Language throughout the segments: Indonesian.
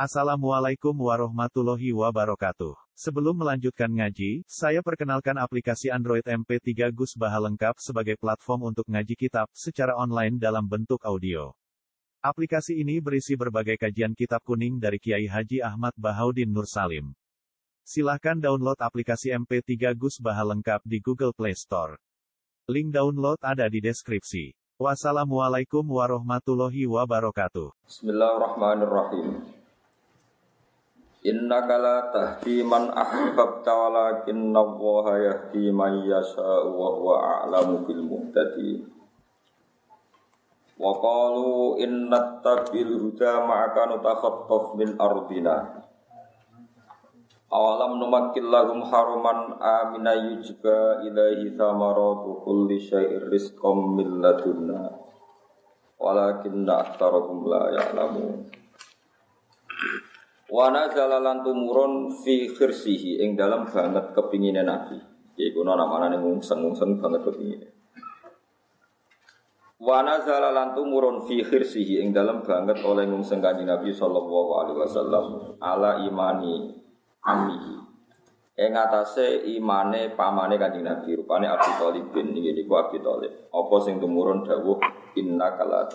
Assalamualaikum warahmatullahi wabarakatuh. Sebelum melanjutkan ngaji, saya perkenalkan aplikasi Android MP3 Gus Baha lengkap sebagai platform untuk ngaji kitab secara online dalam bentuk audio. Aplikasi ini berisi berbagai kajian kitab kuning dari Kiai Haji Ahmad Bahaudin Nur Salim. Silahkan download aplikasi MP3 Gus Baha lengkap di Google Play Store. Link download ada di deskripsi. Wassalamualaikum warahmatullahi wabarakatuh. Bismillahirrahmanirrahim. Innaka la tahdi man ahbabta walakinna Allaha yahdi man yasha'u wa huwa a'lamu bil muhtadin. Wa qalu inna tabil huda ma'aka nutakhattaf min ardina. Awalam numakkil lahum haraman amina yujba ilaihi thamaratu kulli syai'ir rizqan min ladunna. Walakinna aktsarahum la ya'lamun. Wa nazala lan tumurun fi khirsihi ing dalam banget kepingine Nabi. Iku namane ngungseng-ngungseng banget kepingine. Wa nazala lan tumurun fi khirsihi ing dalam banget oleh ngungseng Kanjeng Nabi sallallahu alaihi wasallam ala imani ammihi. Ing atase imane pamane Kanjeng Nabi rupane Abi Thalib bin niku Abi Thalib. Apa sing tumurun dawuh innaka la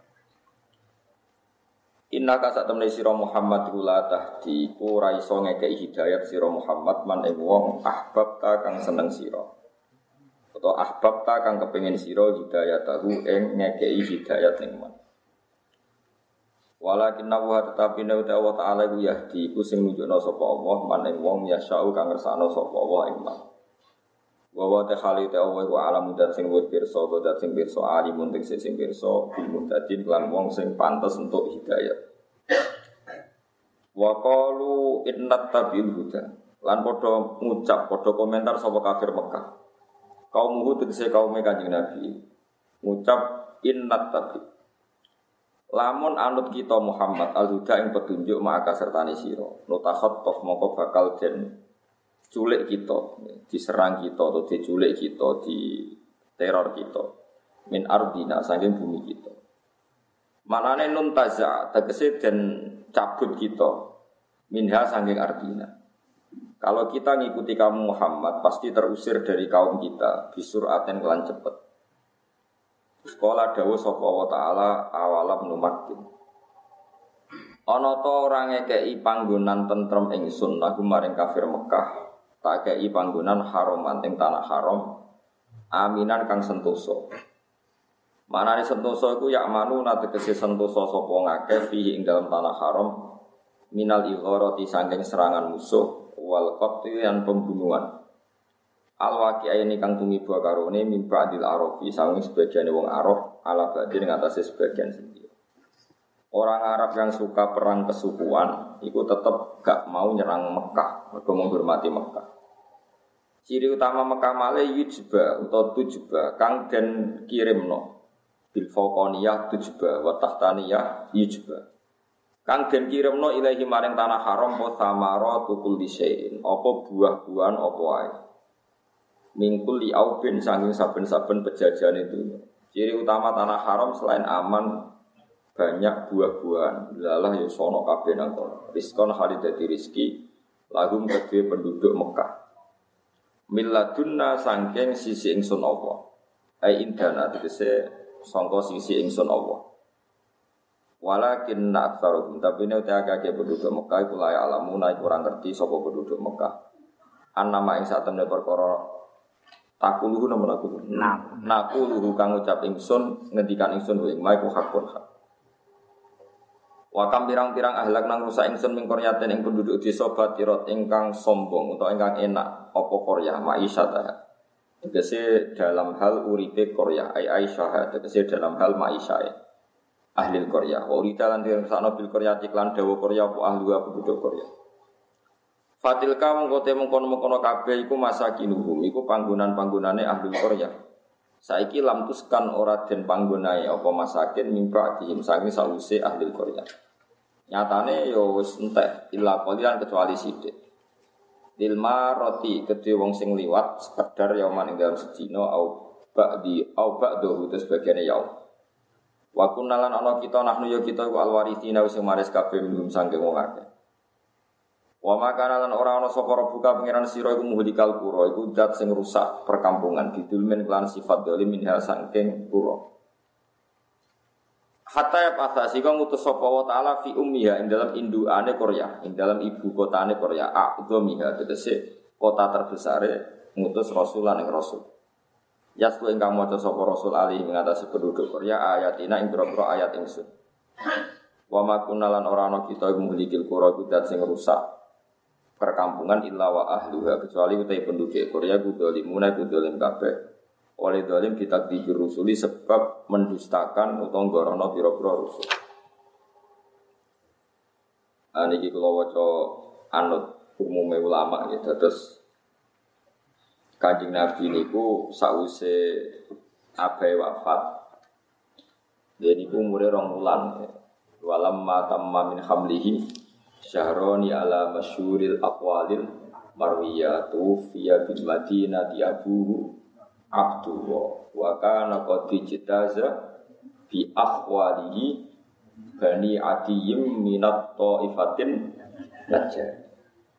Inna ka sak temne sira Muhammad iku la tahdi ora iso ngekeki hidayat sira Muhammad man ing wong ahbabta kang seneng sira. Utawa ahbabta kang kepengin sira hidayatahu ing ngekeki hidayat ning man. Walakin wa tetapi nek Allah taala iku yahdi iku sing nunjukna sapa Allah man ing wong yasau kang ngersakno sapa Allah ing man. Wa wa ta khali ta Allah wa alam dan sing wis pirsa dan sing pirsa alimun sing pirsa bil muhtadin lan wong sing pantes untuk hidayat. Wa qalu inna tabil huda lan padha ngucap padha komentar sapa kafir Mekah. Kaum Hud tegese kaum Kanjeng Nabi ngucap inna tabil. Lamun anut kita Muhammad al-huda ing petunjuk maka sertane sira. Nutakhattaf mongko bakal den culik kita, diserang kita atau diculik kita, di teror kita min ardina saking bumi kita. Manane nun taza tegese den cabut kita minha saking ardina. Kalau kita ngikuti kamu Muhammad pasti terusir dari kaum kita bisuraten kelan cepet. Sekolah dawuh sapa wa taala awalam numakin. Ana ta ora ngekeki panggonan tentrem ingsun lagu maring kafir Mekah. Tak kei panggonan haram ing tanah haram aminan kang sentosa. Manane sentosa iku yak manu tegese sentosa sapa ngakeh fihi ing dalam tanah haram minal igharati saking serangan musuh wal qatl lan pembunuhan. Al waqi'aini kang tumiba karone mimba adil arabi saking sebagian wong Arab ala badhe ing atase sebagian sendiri. Orang Arab yang suka perang kesukuan itu tetap gak mau nyerang Mekah, mereka menghormati Mekah. Ciri utama Mekah male yujba atau tujba kang den kirimno bil faqaniyah tujba wa tahtaniyah yujba. Kang den kirimno ilahi maring tanah haram wa samaratu kulli syai'in, apa buah-buahan apa wae. Mingkul li aubin sanging saben-saben pejajahan itu. Ciri utama tanah haram selain aman banyak buah-buahan, lalah ya sono kabeh nang kono. Rizqon halidati rizki lahum kedue penduduk Mekah. Milladunna sangking sisi ingsun Allah. Ai indana tegese sangka sisi ingsun Allah. Walakin aktsaruhum tapi nek akeh penduduk Mekah iku layak alamuna iku ora ngerti sapa penduduk Mekah. Annama ing satemene perkara takuluhu namun aku. Nakuluhu kang ucap ingsun ngendikan ingsun wa ing maiku hakun hak. Wakam pirang-pirang ahlak nang rusak ingsun ming qaryatin ing penduduk desa Batirot ingkang sombong utawa ingkang enak apa qaryah ma'isyata. Tegese dalam hal uripe qaryah Aisyah tegese dalam hal ma'isyah ahli qaryah. Urita lan dirsakno bil qaryah iklan dawa qaryah apa ahli penduduk qaryah. Fatilka mengkote mengkono-mengkono kabeh iku masakinuhum iku panggonan-panggonane ahli qaryah. Saiki lam tuskan ora den panggonae apa masakin mimpa dihim sangi sause ahli qaryah. Nyatane ya wis entek illa qalilan kecuali sithik. Ilma roti kedhe wong sing liwat sekedar yauman ing dalam sedina au ba'di au ba'dahu terus bagiane yaum. Wa kunnalan ana kita nahnu ya kita iku alwarithina wis maris kabeh minum sangking wong akeh. Wa makana lan ora ana sapa buka pangeran sira iku muhlikal qura iku zat sing rusak perkampungan didulmen kelan sifat dolim minha sangking qura. Hatta ya pasasi kang ngutus sapa wa taala fi ummiha ing dalam indukane Korea, ing dalam ibu kotane Korea, a'dhamiha tegese kota terbesare ngutus rasulan ing rasul. Yasku ingkang maca sapa rasul ali ngatasi penduduk Korea ayatina ing boro-boro ayat ingsun. Wa ma kunalan ora ana kita muhlikil qura kudat sing rusak perkampungan illa wa ahluha kecuali utai penduduk Korea kudolimuna kudolim kabeh. Oleh dolim kita dirusuli sebab mendustakan utawa ngorono pira-pira rusul. Niki kula waca anut umume ulama gitu. Terus Kanjeng Nabi niku sause abahe wafat. Dia niku umure 2 wulan. Walam ma tamma min hamlihi syahroni ala masyhuril aqwalil marwiyatu fiya bil madinati abuhu Abdullah wa kana qad jitaza bi akhwalihi bani adiyim minat ta'ifatin najjar.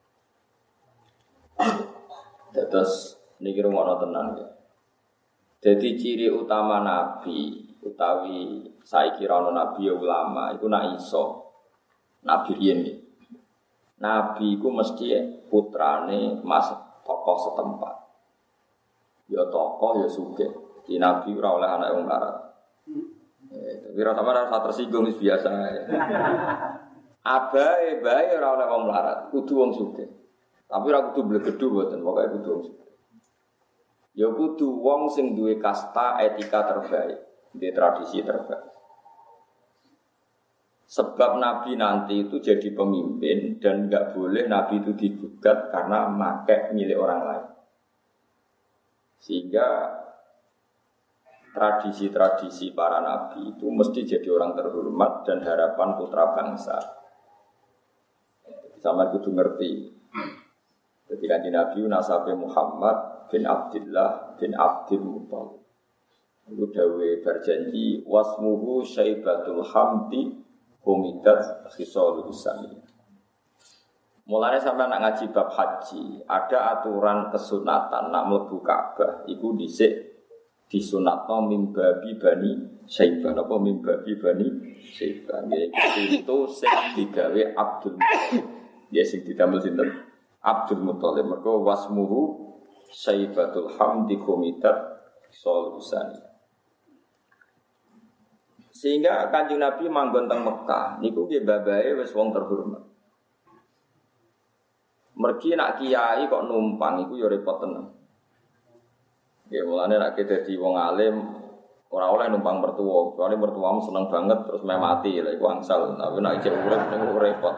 Terus niki rumono tenan ya. Dadi ciri utama nabi utawi saiki ra ono nabi ya ulama iku nak iso nabi riyen iki. Nabi iku mesti putrane mas tokoh setempat. Ya tokoh ya sugih. Di Nabi ora oleh anak wong larat. Tapi ora sampeyan ora tersinggung wis biasa. Abahe bae ora oleh wong larat, kudu wong sugih. Tapi ora kudu blegedu mboten, pokoke kudu wong sugih. Ya kudu wong sing duwe kasta etika terbaik, duwe tradisi terbaik. Sebab Nabi nanti itu jadi pemimpin dan enggak boleh Nabi itu digugat karena make milik orang lain. Sehingga tradisi-tradisi para nabi itu mesti jadi orang terhormat dan harapan putra bangsa. Sama kudu ngerti. Jadi kanjeng Nabi nasabe Muhammad bin Abdullah bin Abdul Muthalib. Itu dawe berjanji wasmuhu Syaibatul Hamdi humidat khisalul sami. Mulane sampai nak ngaji bab haji, ada aturan kesunatan nak mlebu Ka'bah iku dhisik disunatno mimbabi bani Syaibah apa mimbabi bani Syaibah. Itu sing digawe Abdul Muthalib. Ya sing didamel sinten? Abdul Muthalib. Mergo wasmuhu Syaibatul Hamdi Komitat Solusan. Sehingga Kanjeng Nabi manggon teng Mekah niku nggih babahe wis wong terhormat. Mergi nak kiai kok numpang iku ya repot tenan. Ya mulane nek dadi wong alim ora oleh numpang mertua, kecuali mertuamu seneng banget terus meh mati lha iku angsal. Tapi nek isih urip niku repot.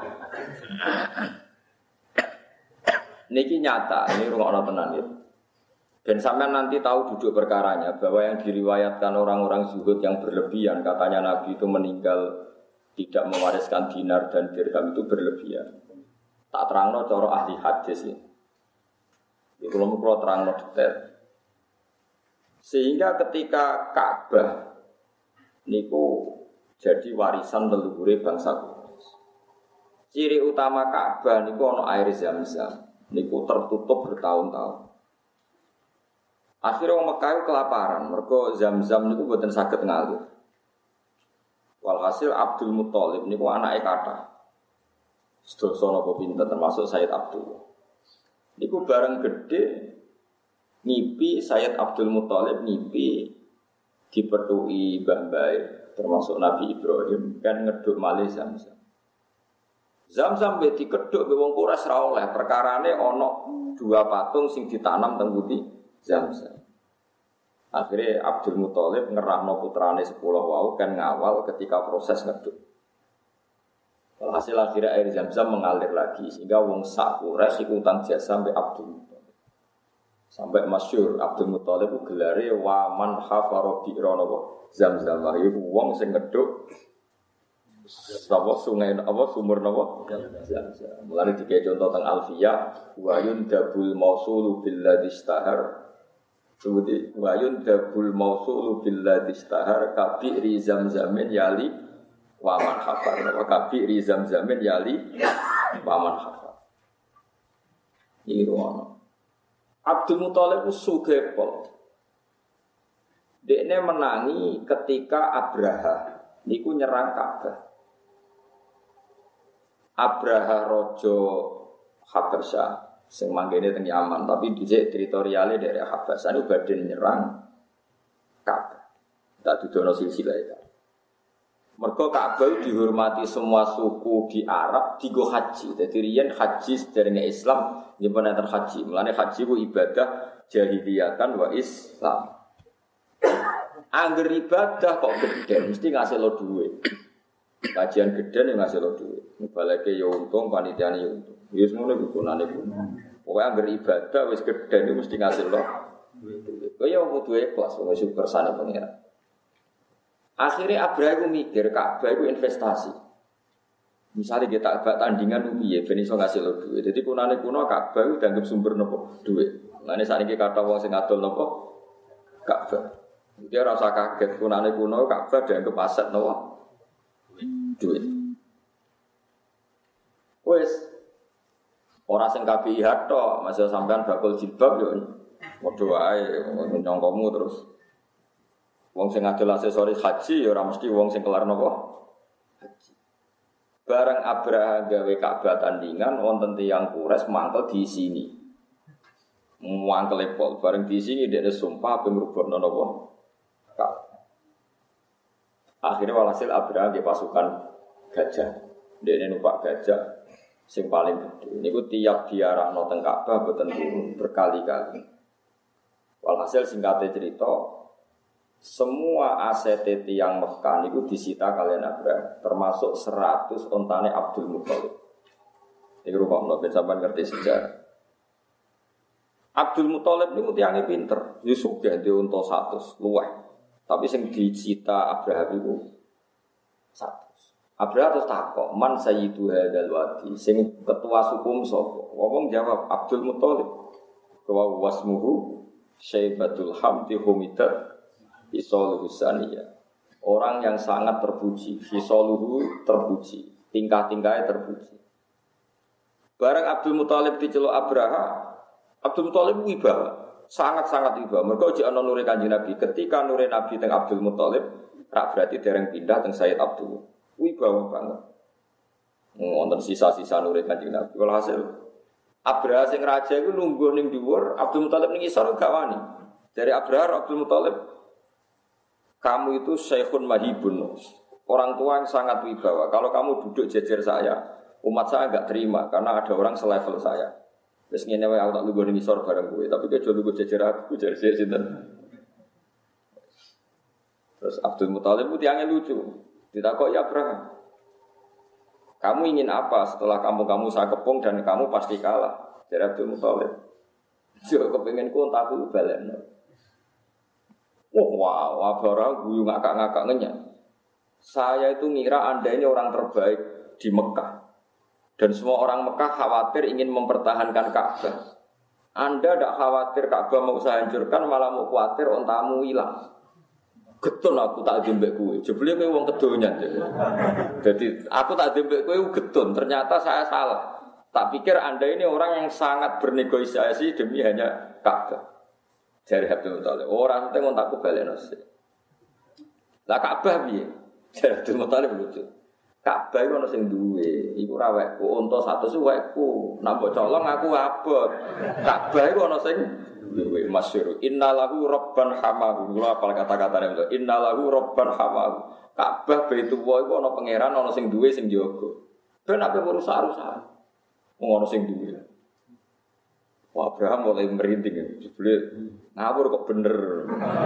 Niki nyata, ini rungokno tenan ya. Dan sampean nanti tahu duduk perkaranya bahwa yang diriwayatkan orang-orang zuhud yang berlebihan katanya Nabi itu meninggal tidak mewariskan dinar dan dirham itu berlebihan. Tak terangno cara ahli hadis ya. Iku lho kula terangno detail. Sehingga ketika Ka'bah niku jadi warisan leluhure bangsa Quraisy. Ciri utama Ka'bah niku ana air Zam-Zam. Niku tertutup bertahun-tahun. Akhirnya orang Mekah kelaparan, mergo Zam-Zam niku mboten saged ngalir. Walhasil Abdul Muthalib niku anake kathah. Sedasa napa pinten termasuk Sayyid Abdul. Niku bareng gede ngipi Sayyid Abdul Muthalib ngipi dipethuki mbah-mbah termasuk Nabi Ibrahim kan ngeduk malih Zam-Zam. Zam-Zam be dikeduk be wong Quraisy ra oleh, perkarane ana 2 patung sing ditanam teng pundi Zam-Zam. Akhirnya Abdul Muthalib ngerahno putrane 10 wau kan ngawal ketika proses ngeduk. Hasil akhirnya air Zam-Zam mengalir lagi sehingga wong sak Quraisy iku utang jasa sampai Abdul Muthalib. Sampai masyhur Abdul Muthalib ku gelare wa man hafara bi'rana Zam-Zam. Iku wong sing ngeduk sapa sungai apa sumur napa Zam-Zam. Mulane dikek contoh teng Alfiyah wa yundabul mausulu billadhi istahar Sebuti wayun dabul mausulu billadhi istahar kabi rizam zamin yali waman hafar. Kabi rizam zamin yali waman hafar. Ini ruang. Abdul Muthalib sugih pol. Dekne menangi ketika Abraha niku nyerang Ka'bah. Abraha raja Habasyah sing manggene teng Yaman, tapi dhisik teritoriale daerah Habasyah niku badhe nyerang Ka'bah. Tak dudono silsilah itu. Mergo Ka'bah dihormati semua suku di Arab digo haji. Dadi riyen haji sederenge Islam nyimpen enten haji. Mulane haji ku ibadah jahiliyatan wa Islam. Angger ibadah kok gede mesti ngasih lo duit. Kajian gede nih ngasih lo duit. Balake ya untung, panitiane ya untung. Ya semono gunane kuwi. Pokoke angger ibadah wis gede nih mesti ngasih lo duit. Kaya kudu ikhlas wong sing kersane pengira. Akhirnya Abraha mikir Ka'bah itu investasi. Misalnya kita agak tandingan piye ben iso ngasih lo duit. Jadi kunane kuno Ka'bah itu dianggap sumber nopo duit. Lane sakniki kata wong sing ngadol nopo Ka'bah. Dia rasa kaget kunane kuno Ka'bah dianggap aset nopo duit. Wes ora sing KPIH tok, masih sampean bakul jilbab yo padha wae nyongkomu terus. Wong sing ngadol aksesoris haji ya ora mesti wong sing kelar napa haji. Bareng Abraha gawe Ka'bah tandingan wonten tiyang Quraisy mangkel di sini. Mangkel pol bareng di sini dia sumpah ping rubokno napa Ka'bah. Akhirnya walhasil Abraha nggih pasukan gajah. Dene numpak gajah sing paling gede. Niku tiap diarahno teng Ka'bah boten turun berkali-kali. Walhasil singkate cerita semua aset tiyang Mekah niku disita kalian Abraha, termasuk 100 ontane Abdul Muthalib. Iki rupane ben sampean ngerti sejarah. Abdul Muthalib niku tiyange pinter, ya sugih dhe unta 100 luweh. Tapi sing disita Abraha niku 100. Abraha terus takok, "Man sayyidu hadzal wadi?" Sing ketua suku sapa? Wong jawab Abdul Muthalib. Wa wasmuhu Syaibatul Hamdi Humidat Fisoluhu saniyah. Orang yang sangat terpuji. Fisoluhu terpuji. Tingkah-tingkahnya terpuji. Barang Abdul Muthalib diceluk Abraha, Abdul Muthalib wibawa. Sangat-sangat wibawa. Mereka uji ana nure Kanjeng Nabi. Ketika nure Nabi teng Abdul Muthalib, rak berarti dereng pindah teng Sayyid Abdul. Wibawa banget. Wonten sisa-sisa nure Kanjeng Nabi. Walhasil Abraha sing raja iku lungguh ning dhuwur, Abdul Muthalib ning isor gak wani. Dari Abraha Abdul Muthalib, kamu itu syekhun mahibun, orang tua yang sangat wibawa. Kalau kamu duduk jejer saya, umat saya enggak terima karena ada orang selevel saya. Terus ngene wae aku tak lungguh ning isor bareng kowe, tapi kowe aja lungguh jejer aku, jejer sinten. Terus Abdul Muthalib ku tiyangnya lucu. Ditakoki Abraham, "Kamu ingin apa setelah kamu saya kepung dan kamu pasti kalah?" Jadi Abdul Muthalib, "Yo kepenginku entakku balekno." Wow, Abraha guyu ngakak-ngakak ngenyak. Saya itu ngira Anda ini orang terbaik di Mekah. Dan semua orang Mekah khawatir ingin mempertahankan Ka'bah. Anda tidak khawatir Ka'bah mau saya hancurkan, malah mau khawatir ontamu hilang. Getun aku tak dembek kowe. Jebule kowe wong kedonyan. Jadi aku tak dembek kowe getun. Ternyata saya salah. Tak pikir Anda ini orang yang sangat bernegosiasi demi hanya Ka'bah. Jari Abdul Muthalib, orang itu ngontakku balik nasi. Lah Ka'bah piye? Jari Abdul Muthalib lucu. Ka'bah itu nasi duwe, iku rawekku, unta 100 wekku. Nak mbok colong aku abot. Ka'bah itu nasi duwe masyhur. Innalahu rabban hamahu. Kula apal kata-katane itu. Innalahu rabban hamahu. Ka'bah Baitullah iku ana pangeran, ana sing duwe sing jaga. Ben ape rusak-rusak. Wong ana sing duwe. Wah, Abraham mulai merinding ya. Jebule ngawur kok bener.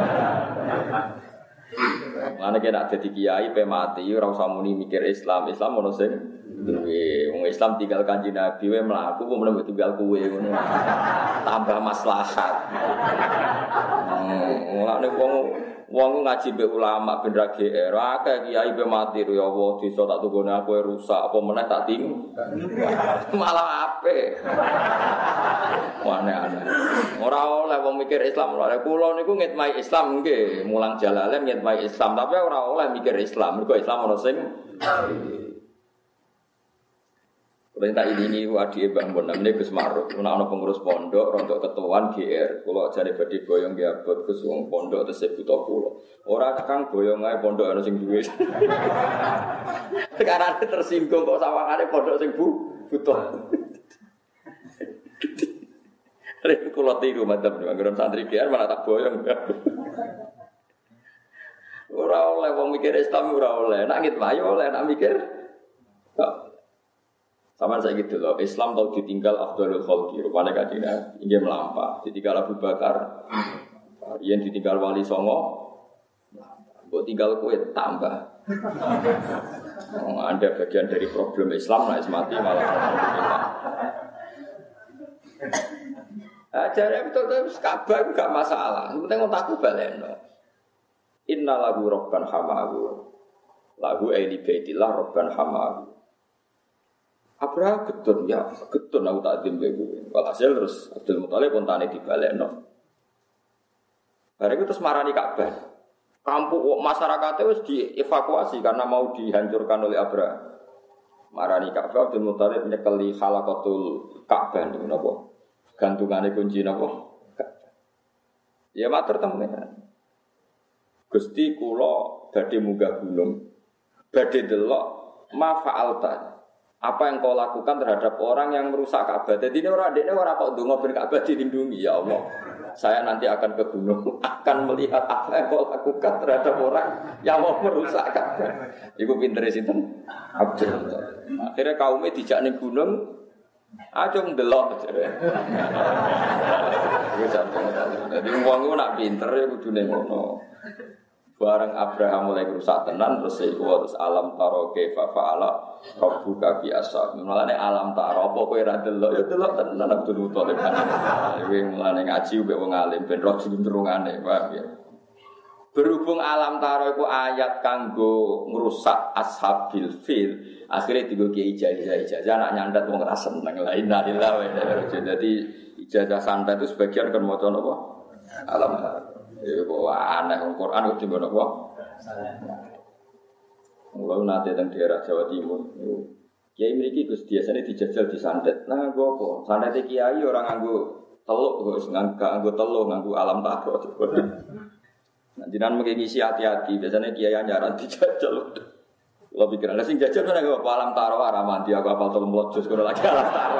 Lan nek nak dadi kiai pe mati ora usah muni mikir Islam ono sing duwe. Wong Islam tinggal Kanjeng Nabi wae mlaku kok meneh tinggal kowe ngono. Tambah maslahat. Mulane wong Wong ngaji mbek ulama ben ra GR, akeh kiai be mati ya Allah, desa tak tunggone aku rusak apa meneh tak ting. Malah apik. Aneh-aneh. Ora oleh wong mikir Islam ora. Kula niku ngitmai Islam nggih, mulang jalalen ngitmai Islam, tapi ora oleh mikir Islam. Mergo Islam ana sing perintah ini wadi Mbah Mun namine Gus Maruf. Ana pengurus pondok rontok ketuaan GR. Kula jane badhe boyong nggih abot Gus wong pondok tesih buta kula. Ora Kang boyong ae pondok ana sing duwe. Sekarang tersinggung kok sawangane pondok sing buta. Rek kula tiru mantap nggon santri GR malah tak boyong. Ora oleh wong mikir Islam ora oleh. Nek ngitmai oleh nek mikir. Sama saya gitu loh, Islam tahu ditinggal Afdhalul Khalqi, rupanya kajian ingin melampah, ditinggal Abu Bakar, yang ditinggal Wali Songo, buat tinggal kue tambah. Anda bagian dari problem Islam, nah mati malah alhamdulillah. Ajarnya betul-betul Ka'bah enggak masalah, yang penting otakku baleno. Inna lagu Rabban hamahu, lagu Aili Baitillah Rabban hamahu. Abraham getun ya, getun aku tak dimbe kuwi. Walhasil terus Abdul Muthalib kontane dibalekno. Bareng terus marani Ka'bah. Kampung masyarakatnya wis dievakuasi karena mau dihancurkan oleh Abraham. Marani Ka'bah Abdul Muthalib nyekeli khalaqatul Ka'bah niku napa? Gantungane kunci napa? Ya matur temen. Gusti kula badhe munggah gunung. Badhe delok ma fa'alta. Apa yang kau lakukan terhadap orang yang merusak Ka'bah? Jadi ini orang kok ndonga ben Ka'bah dilindungi ya Allah. Saya nanti akan ke gunung, akan melihat apa yang kau lakukan terhadap orang yang mau merusak Ka'bah. Iku pintere sinten? Abdul. Akhirnya kaumnya dijak ning gunung, aja ndelok jare. Wis sampeyan. Dadi wong iku nak pinter ya kudune ngono. Barang Abraham mulai rusak tenan terus alam taro kaifa fa'ala rabbuka bi ashab. Mulane alam taro apa kowe ra delok ya delok tenan Abdul Muthalib kan. Iki mulane ngaji mbek wong alim ben roh jluntrungane, paham ya. Berhubung alam taro iku ayat kanggo ngrusak ashabil fil, akhirnya digo kiai ijazah nak nyandat wong ra seneng. La ilaha illallah. Jadi ijazah santai itu sebagian kan maca napa? Alam taro. Ya kok aneh Al-Qur'an kok dimana kok? Mulai nanti teng daerah Jawa Timur. Kiai mriki Gus biasane dijajal di santet. Nah, nggo apa? Santet kiai orang nganggo teluk kok nganggo teluk nganggo alam taro. Nah, jenengan mengki ngisi hati-hati, biasanya kiai nyaran dijajal. Kalau pikiran sing jajal mana apa alam taro aramanti aku apal 30 juz kono lagi alam taro.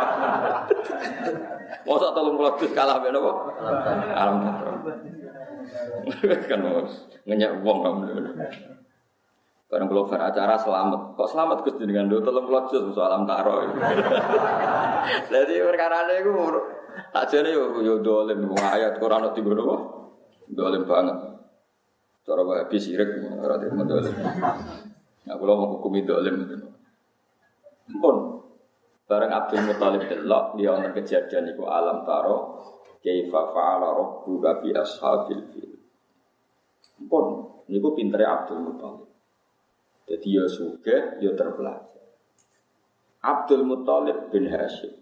Mosok 30 juz kalah ben apa? Alam taro. Kan ngenyak wong kamu. Barang kalau beracara selamat, kok selamat Gus dengan do tolong pelojos soal alam taro. Jadi perkara ini aku tak jadi yo dolim ayat Quran itu gue doh, dolim banget. Cara habis sirik orang itu dolim. Aku mau hukumi dolim itu. Pun barang Abdul Muthalib delok dia untuk kejadian itu alam taro, kaifa fa'ala rabbuka bi ashabil fil. Pun niku pintere Abdul Muthalib. Jadi ya sugih, ya terpelajar. Abdul Muthalib bin Hashim.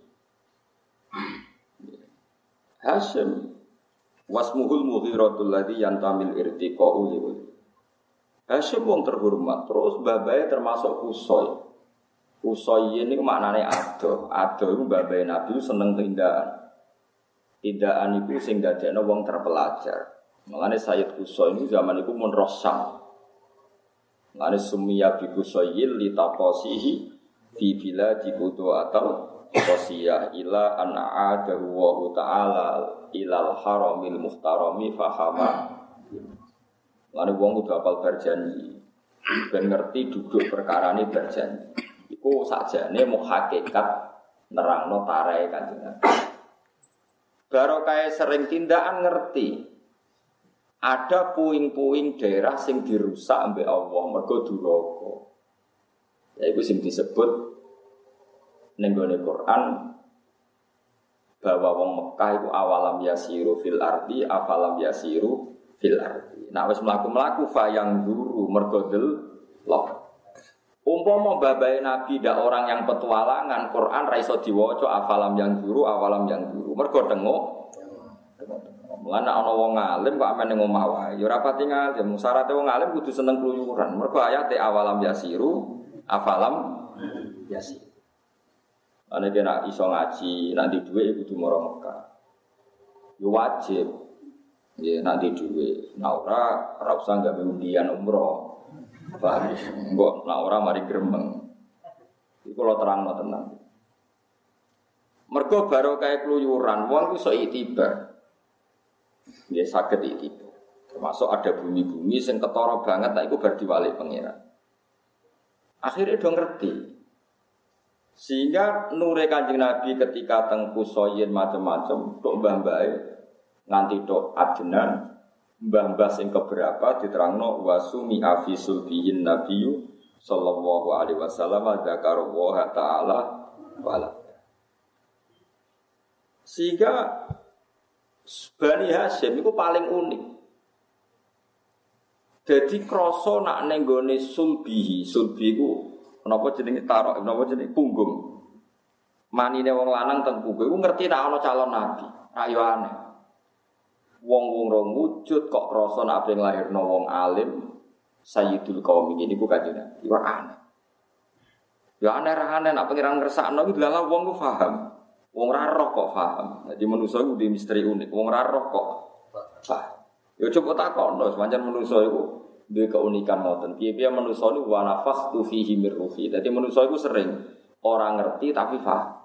Hashim wasmuhul mughiratul ladzi yantamil irtiqa'u li. Hashim wong terhormat, terus babae termasuk Qusay. Qusay ini maknane ado. Ado iku babae Nabi seneng tindakan. Tindakan iku sing dadekno wong terpelajar. Makanya Sayyid Qusay ini zaman itu mun Rossam. Makanya summiya bi Qusayil li taqasihi fi biladi Qudu atau qasiyah ila an a'adahu wa ta'ala ilal haramil muhtarami fahama. Makanya wong kudu hafal berjanji. Ben ngerti duduk perkarane berjanji. Iku sakjane mau hakikat nerangno tarahe Kanjeng Nabi. Barokah sering tindakan ngerti. Ada puing-puing daerah sing dirusak ambek Allah mergo duraka. Ya iku sing disebut ning gone Quran bahwa wong Mekah iku awalam yasiru fil ardi afalam yasiru fil ardi. Nek wis mlaku-mlaku fa yang guru mergo delok. Umpama babae Nabi ndak orang yang petualangan, Quran ra iso diwaca afalam yang guru. Mergo tengok. Mulane ana wong alim kok amene ngomah wae. Ya ora pati ngalim. Syaratnya wong alim kudu seneng kluyuran. Mergo ayate awalam yasiru, afalam yasir. Ane kena iso ngaji, nanti duwe kudu mara Mekah. Yo wajib. Ya nanti duwe. Nah ora usah gawe undian umroh. Paham? Engko nek ora mari gremeng. Iku kula terangno tenan. Mergo barokah kluyuran wong iso itibar. Ya saged itibar. Termasuk ada bumi-bumi sing ketara banget nek iku bar diwalik pangeran. Akhirnya do ngerti. Sehingga nure Kanjeng Nabi ketika teng kusoyen macam-macam tok mbah-mbahe nganti tok ajenan mbah-mbah sing keberapa diterangno wasumi afisul bihin nabiyyu sallallahu alaihi wasallam dzakarallaha taala wala. Sehingga Bani Hasyim itu paling unik. Jadi krasa nak ning gone sulbi iku napa jenenge tarok, napa jenenge punggung. Manine wong lanang teng punggung iku ngerti nek ana calon nabi. Ayo aneh. Wong-wong rong wujud kok krasa nek ben lahirno wong alim sayyidul qaum iki niku Kanjeng Nabi. Iku aneh. Ya aneh-aneh nek pengiran ngersakno iki dalah wong ku paham. Wong ra roh kok paham. Dadi manusa iku di misteri unik. Wong ra roh kok paham. Ya coba takokno, pancen manusa iku duwe keunikan ngoten. Piye-piye manusa niku wa nafakhtu fihi mir ruhi. Dadi manusa iku sering ora ngerti tapi paham.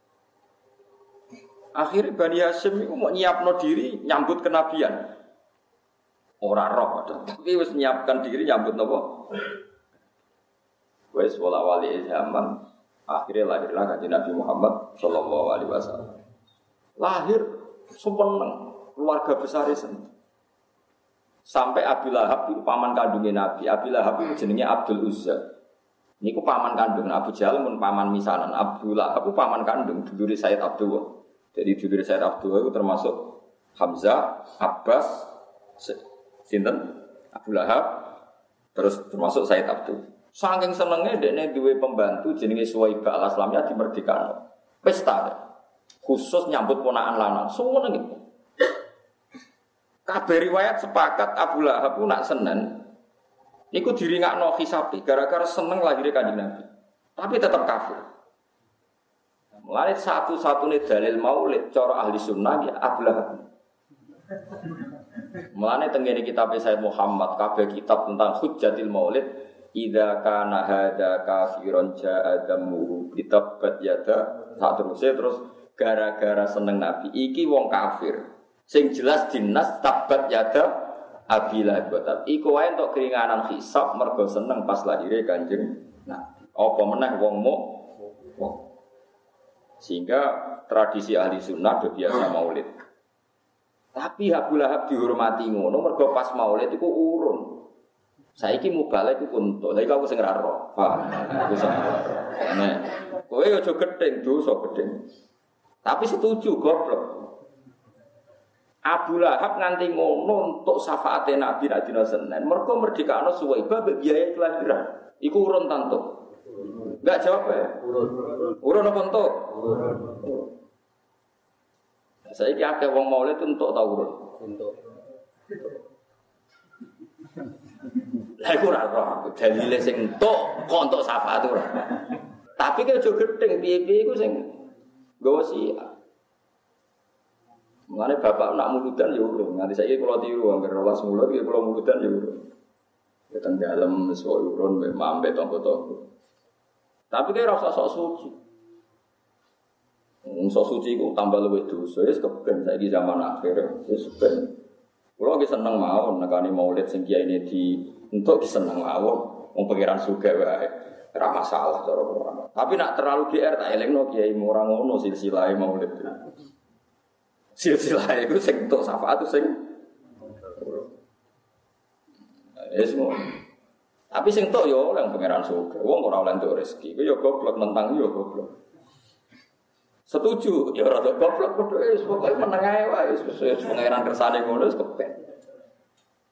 Akhirnya Bani Hasyim iku mau nyiapno diri nyambut kenabian. Ora roh padahal. Tapi wis nyiapkan diri nyambut napa? Wis wala-wali zaman akhirnya lahirlah Kanjeng Nabi Muhammad sallallahu alaihi wasallam. Lahir sumeneng, keluarga besar seneng. Sampai Abi Lahab itu paman kandungnya Nabi. Abi Lahab itu jenenge Abdul Uzza. Niku paman kandung Abu Jahal mun paman misanan. Abu Lahab itu paman kandung dulure Sayyid Abdullah. Jadi dulure Sayyid Abdullah itu termasuk Hamzah, Abbas, sinten? Abu Lahab, terus termasuk Sayyid Abdullah. Saking senenge dekne duwe pembantu jenenge Suwaibah al-Aslamiyah dimerdekakno. Pesta khusus nyambut ponakan lanang. Semono gitu. Kabeh riwayat sepakat Abu Lahab nak Senin iku diringakno hisabi gara-gara seneng lahirnya Kanjeng Nabi. Tapi tetap kafir. Mulane satu-satunya dalil maulid cara ahli sunnah ya Abu Lahab. Mulane tengene kitab Sayyid Muhammad kabeh kitab tentang hujjatil maulid idza kana hadza kafiron ja'a damu kitabat yada terus gara-gara seneng Nabi iki wong kafir. Sing jelas dinas tabat yada Abila Batab. Iku wae entuk keringanan hisab mergo seneng pas lahire Kanjeng Nabi. Apa meneh wong wong. Sehingga tradisi ahli sunnah do biasa maulid. Tapi Abu Lahab dihormati ngono mergo pas maulid iku urun. Saiki mubalek iku entuk. Lha iku aku sing ra roh. Paham? Aku sing ra roh. Nek kowe aja gedeng dosa gedeng. Tapi setuju goblok. Abu Lahab nganti ngono untuk syafaate Nabi nek dina Senin. Mergo merdekakno Suwaibah mbek biaya kelahiran. Iku urun tantuk. Enggak jawab ya? Urun apa entuk? Urun. Saiki akeh wong maulid entuk ta urun? Entuk. Lah iku ora roh, dalile sing entuk kok entuk syafaat ora. Tapi ki aja gedeng piye-piye iku sing nggawa siap. Mengenai bapak nak muludan ya urung. Nanti saya kalau tiru angker rolas mulut, kalau muludan ya urung. Kita dalam soal urun, mambe tonggo-tonggo. Tapi kayak rasa sok suci. Sok suci itu tambah lebih dosa. Ya sekepen saya di zaman akhir. Ya sekepen. Kalau kita senang mau, nekani maulid singkia ini di untuk senang mau, pengiran suga wae. Ora masalah cara orang. Tapi nak terlalu GR tak elengno kiai orang ngono silsilah maulid. Silsilah itu sing entuk syafaat itu sing semua. Tapi sing entuk yo oleh pangeran surga. Wong ora oleh entuk rezeki. Ku yo goblok nentang yo goblok. Setuju, ya ora goblok padha wis pokoke meneng ae wae wis pangeran kersane ngono wis kepen.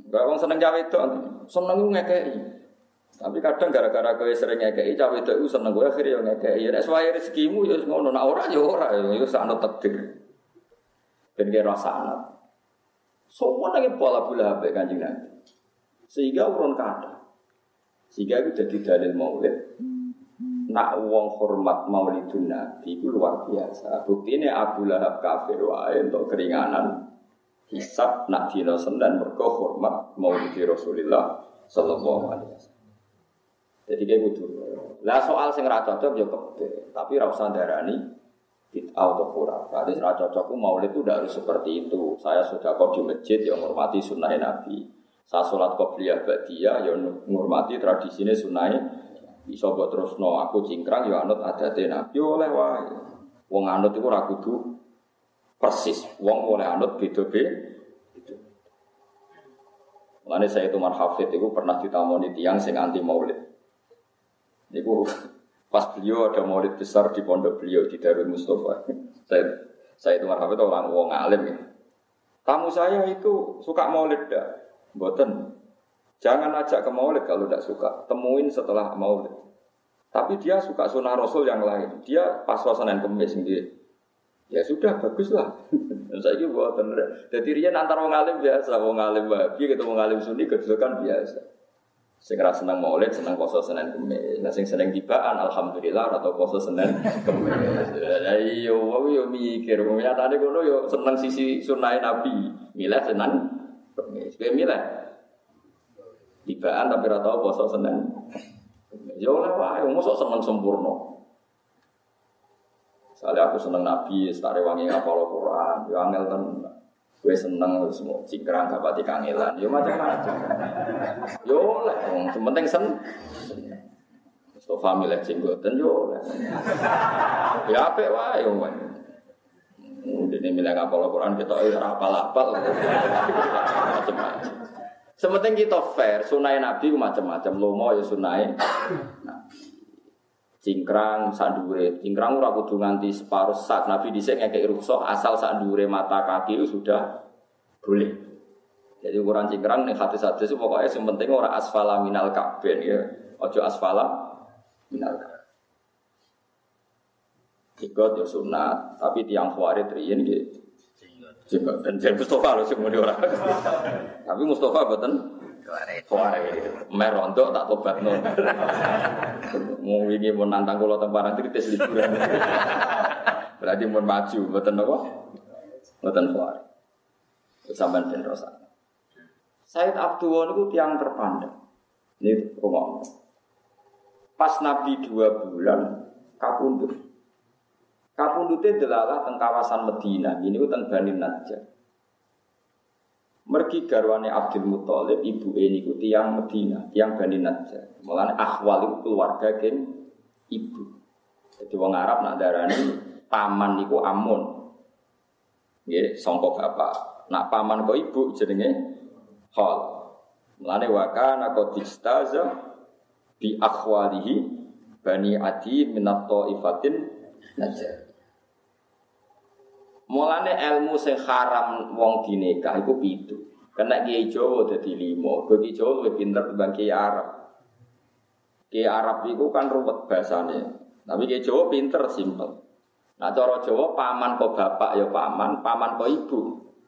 Gak wong seneng cawe itu, seneng ngekei. Tapi kadang gara-gara kowe sering ngekei, cawe itu seneng kowe akhirnya ngekei. Nek suwahe rezekimu ya ngono, nek ora ya ora, ya sakno takdir. Ben kira sanad. Semua lagi pola pula be Kanjeng Nabi. Sehingga urun kata. Sehingga itu jadi dalil maulid. Nak wong hormat maulidun Nabi itu luar biasa. Buktinya Abu Lahab kafir wae untuk keringanan hisab nak dina Senin mergo hormat maulid Rasulullah sallallahu alaihi wasallam. Jadi kayak gitu. Lah soal sing ra cocok ya kebe, tapi ra usah darani bid'ah atau khurafat. Jadi ra cocok maulid itu tidak harus seperti itu. Saya sudah kok di masjid yang menghormati sunnah Nabi. Saya sholat qobliyah ba'diyah ya menghormati tradisine sunnah. Iso mbok terusno aku cingkrang ya anut adate Nabi oleh wae. Wong anut iku ora kudu persis. Wong oleh anut beda-beda. Mulane saya itu Marhafid itu pernah ditamoni tiyang sing anti maulid. Niku pas beliau ada maulid besar di pondok beliau di Darul Mustafa. Saya itu Marhafid orang wong alim ya. Tamu saya itu suka maulid dah. Mboten. Jangan ajak ke maulid kalau tidak suka. Temuin setelah maulid. Tapi dia suka sunnah Rasul yang lain. Dia pas Senin Kemis sendiri. Ya sudah, baguslah. Saya ini buat bener. Jadi dia antara wong alim biasa, wong alim Wahabi ketemu wong alim Sunni kedudukan biasa. Sing ra seneng maulid, seneng poso Senin Kemis. Nah sing seneng tibaan alhamdulillah atau poso Senin Kemis. Ayo, yo mikir, nyatane kono yo seneng sisi sunah Nabi. Milih Senin Kemis. Kowe milih tibaan tapi ora tau poso Senin. Ya oleh wae, mosok seneng sempurna. Soalnya aku seneng Nabi, setare wangi ngapal Al-Quran, ya angel tenan. Gue seneng semua cingkrang gak pati kangelan, ya macam-macam. Yo oleh, yang penting seneng. Mustafa milih jenggoten yo oleh. Ya apik wae yo. Dene milih ngapal Al-Quran kita ora apal-apal. Macam-macam. Sementing kita fair, sunai Nabi macam-macam. Lomo ya sunai Nabi. Cingkrang sandure, cingkrang ora kudu nganti separuh sak. Nabi dhisik ngekeki rukhsah asal sandure mata kaki itu sudah boleh. Jadi ukuran cingkrang ning hadis-hadis pokoke sing penting ora asfala minal ka'bain ya. Aja asfala minal ka'bain. Ikut ya sunat, tapi tiang khawarij riyen nggih. Jenggot dan Mustafa lho sing muni ora. Tapi Mustafa mboten khawarij. Merondo tak tobatno. Mau wingi mun nantang kula teng Parang Tritis liburan. Berarti mun maju mboten napa? Mboten khawarij. Sampeyan den rasa. Said Abdullah niku tiyang terpandang. Ini rumah. Pas Nabi 2 bulan kapundhut. Kapundhute delalah teng kawasan Madinah, ini ku teng Bani Najjar. Mergi garwane Abdul Muthalib, ibuke niku tiyang Madinah, tiyang Bani Najjar. Mulane akhwal iku keluarga geng ibu. Jadi wong Arab nak darani paman niku amun. Nggih, sangka bapak. Nak paman kok ibu jenenge khal. Mulane wa kana qad istaza bi akhwalihi Bani Adi minat taifatin Najjar. Mulane ilmu sing haram wong dinikah iku 7. Kena Kiai Jawa dadi 5. Kiai Jawa luwih pinter timbang Kiai Arab. Kiai Arab iku kan ruwet bahasane. Tapi Kiai Jawa pinter simpel. Nah cara Jawa paman kok bapak ya paman, paman kok ibu.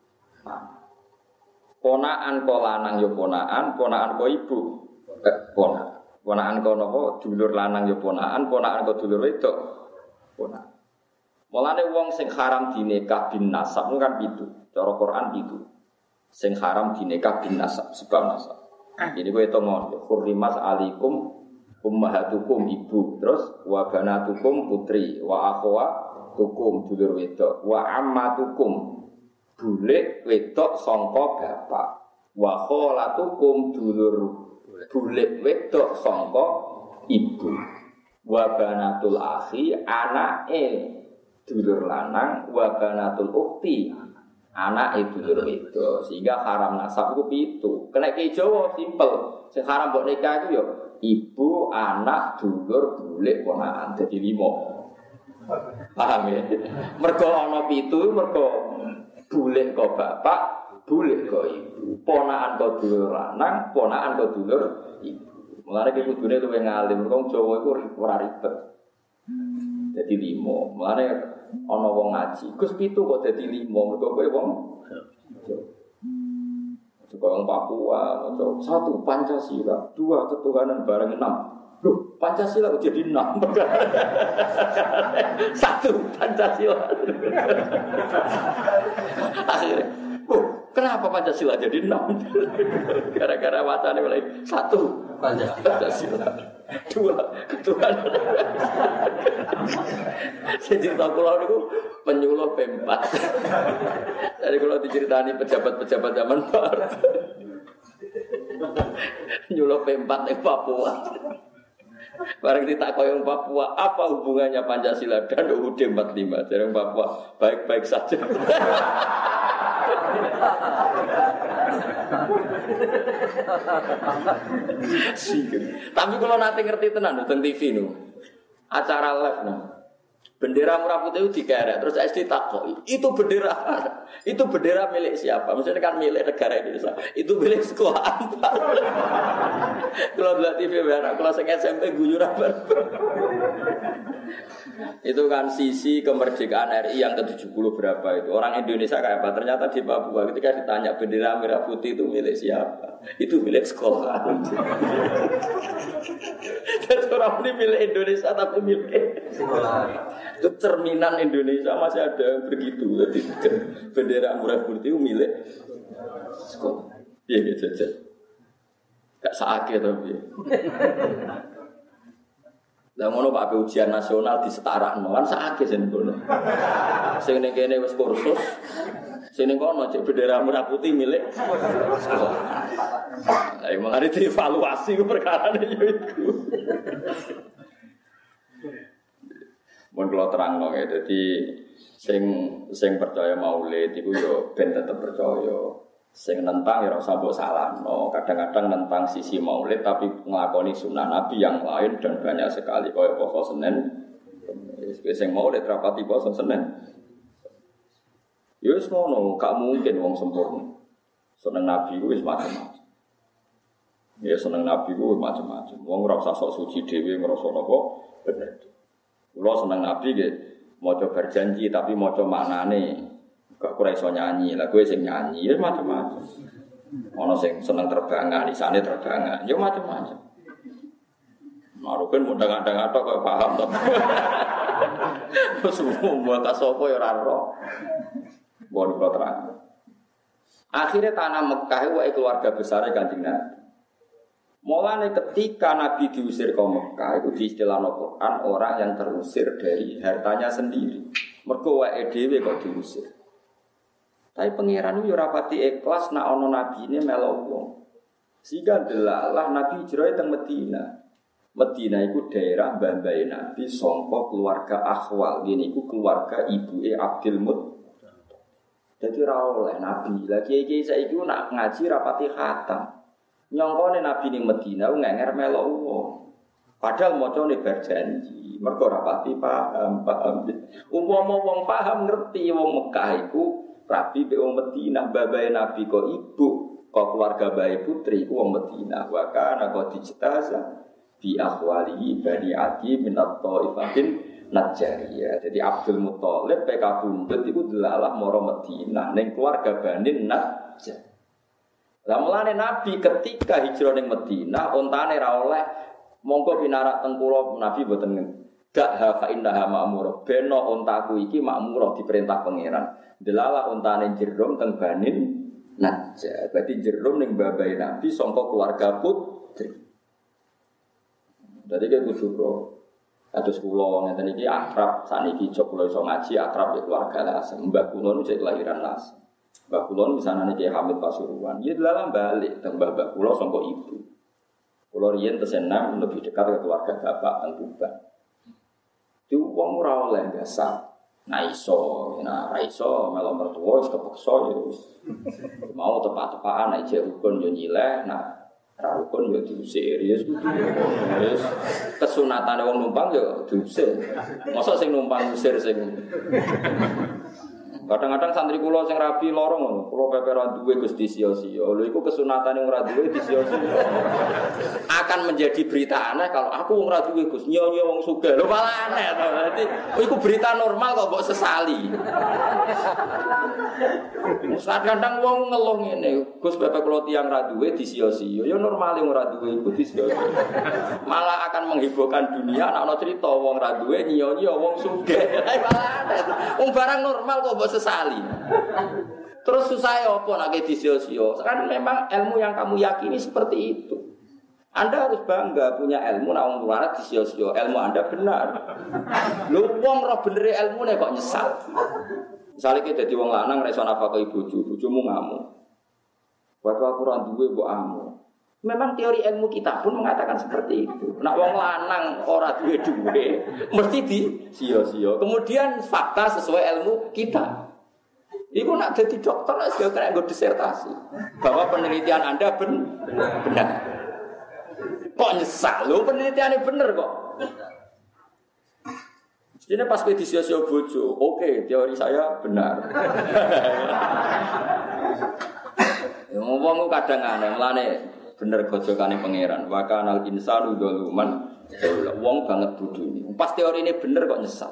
Ponakan kok lanang ya ponakan kok ibu. Ponakan kok napa dulur lanang ya ponakan kok dulur wedok. Ponakan. Mulane wong sing haram dinikah bin nasab kan itu, cara Quran itu. Sing haram dinikah bin nasab sebab nasab. Jadi kowe tonggo hurrimat alaikum ummahatukum ibu, terus wa banatukum putri, wa akhwatukum dulur wedok, wa ammatukum bulik wedok sangka bapak, wa kholatukum dulur bulik wedok sangka ibu, wa banatul akhi anake dulur lanang wa banatul ukhti anak dulur wedok sehingga haram nasab ku 7. Kena Ki Jawa simpel. Sing haram mbok nikah iku ya ibu, anak, dulur, bulik, ponakan dadi 5. Paham ya? Mergo ana 7 mergo bulik kok bapak, boleh kok ibu. Ponakan kok dulur lanang, ponakan kok dulur ibu. Mulane iki kudune luwih ngalim, wong Jawa iku ora ribet. Dadi 5. Mulane ana wong ngaji, Gus 7 kok dadi 5, mergo kowe wong Juga orang Papua, 1 Pancasila, 2 ketuhanan bareng 6. Loh, Pancasila jadi 6. 1 Pancasila. Akhirnya, kenapa Pancasila jadi 6? Gara-gara wacana mulai 1 Pancasila, 2 ketuhanan. Saya cerita pulau itu penyuluh P4. Jadi kalau diceritani pejabat-pejabat zaman baru, nyuluh P4 di Papua. Barang ditakoi yang Papua, apa hubungannya Pancasila dan UUD 45? Jadi Papua baik-baik saja. Tapi kalau nanti ngerti tenan tentang TV nu, acara live nu, bendera merah putih itu digarek, terus SD takoi, itu bendera milik siapa? Maksudnya kan milik negara Indonesia, itu milik sekolah apa? Kalau lihat TV benar, kalau saya SMP gugur apa? Itu kan sisi kemerdekaan RI yang ke-70 berapa itu. Orang Indonesia kayak apa? Ternyata di Papua ketika ditanya bendera merah putih itu milik siapa? Itu milik sekolah. Dan orang ini milik Indonesia tapi milik sekolah. Itu cerminan Indonesia masih ada yang begitu. Jadi bendera merah putih itu milik sekolah. Iya gitu aja. Gak sakit tapi. Lah ngono Pak ujian nasional disetarakno kan sakit sing ngono. Sing ning kene wis kursus. Sing ning kono cek bendera merah putih milik sekolah. Lah emang ada dievaluasi ku perkarane yo iku. Mun kula terangno ya dadi sing percaya maulid iku yo ben tetep percaya. Sing nentang ya ora usah mbok salahno. Kadang-kadang nentang sisi maulid tapi nglakoni sunah Nabi yang lain dan banyak sekali kaya poso Senin. Sing maulid rapati poso Senin. Ya wis ngono, gak mungkin wong sempurna. Seneng Nabi ku wis macam-macam. Ya seneng Nabi ku macam-macam. Wong ora usah sok suci dhewe ngrasa napa bener. Kula seneng Nabi nggih maca berjanji tapi maca maknane. Gak ora iso nyanyi, lah kowe sing nyanyi ya macam-macam. Ana sing seneng terbangan, isane terbangan, ya macam-macam. Maruken mundang-andang atok kok paham to. Semua kasapa ya ora ro. Bon kula terang. Akhirnya tanah Mekah wae keluarga besar Kanjeng Nabi. Mulane ketika Nabi diusir ke Mekah itu diistilahno Quran orang yang terusir dari hartanya sendiri. Mergo wae dhewe kok diusir. Tapi pangeran itu rapati ikhlas nak ono nabi ini melok wong. Sehingga delalah nabi hijrah teng Medina. Medina itu daerah mbah-mbahe nabi sangka keluarga Akhwal. Ngene iku keluarga ibuke Abdul Muttalib. Dadi ora oleh nabi. Lah kiai-kiai saiki nak ngaji rapati khatam. Nyongkone nabi ning Medina ngenger melok wong. Padahal macane berjanji. Mergo rapati paham. Umpama wong paham ngerti wong Mekah iku Rabi be wong Medina, babae Nabi kok ibu, kok keluarga bae putri ku wong Medina. Wa kana qad dijtaza bi akhwali bani Adi min at-Thaifatin Najjariyah. Jadi Abdul Muttalib PK Bundut iku delalah mara Medina ning keluarga Bani Najjar. Lah mulane Nabi ketika hijrah ning Medina, ontane ra oleh monggo pinarak teng kula Nabi mboten gak hafa innaha ma'murah. Beno ontaku iki makmurah diperintah pangeran. Delala ontane jerum teng Banin Najjar. Berarti jerum ning babae Nabi sangka keluarga putri. Dadi ke kudu bro. Kados kula ngeten iki akrab saniki jog kula iso ngaji akrab ya keluarga Lasem. Mbah kula niku cek kelahiran Lasem. Mbah kula misanane Ki Hamid Pasuruan. Ya delala balik teng mbah kula sangka ibu. Kula riyen tesenam lebih dekat ke keluarga bapak teng Tuban. Itu wong ora oleh biasa. Nah iso melok mertua wis kepeksa ya wis. Mau tepak-tepakan nek jek rukun yo nyileh, nah ra rukun yo diusir ya wis. Kesunatane wong numpang yo diusir. Mosok sing numpang usir sing Kadang-kadang santri kula sing rabi lorong ngono, kula pepe ra duwe Gus disio-sio. Lho iku kesunatane wong ra duwe disio-sio. Akan menjadi berita aneh kalau aku wong ra duwe Gus, nyo-nyo wong sugih. Lho malah aneh to. Berarti iku berita normal kok mbok sesali. Kadang-kadang wong ngeluh ngene, Gus pepe kula tiyang ra duwe disio-sio. Ya normale wong ra duwe iku disio-sio. Malah akan menghebohkan dunia nek ana cerita wong ra duwe nyo-nyo wong sugih. Malah aneh. Wong barang normal kok mbok sesali. Terus susah apa nak disio-sio? Kan memang ilmu yang kamu yakini seperti itu. Anda harus bangga punya ilmu nak wong luar disio-sio. Ilmu Anda benar. Lu wong roh bener ilmune kok nyesal. Misale ki dadi wong lanang ra iso nafkahi bojomu ngamuk. Waktu aku ora duwe mbok amu. Memang teori ilmu kita pun mengatakan seperti itu. Nak wong lanang ora duwe mesti disio-sio. Kemudian fakta sesuai ilmu kita. Iku nak jadi dokter wis kena nggo disertasi bahwa penelitian Anda benar. Kok nyesal lho penelitiannya bener kok. Ini pas ke disio-sio bojo, oke, teori saya benar. Ngomong kadang aneh, melane bener gojokane pangeran. Wa kanal insanu dzaluman. Wong banget bodho ini. Pas teori ini bener kok nyesal.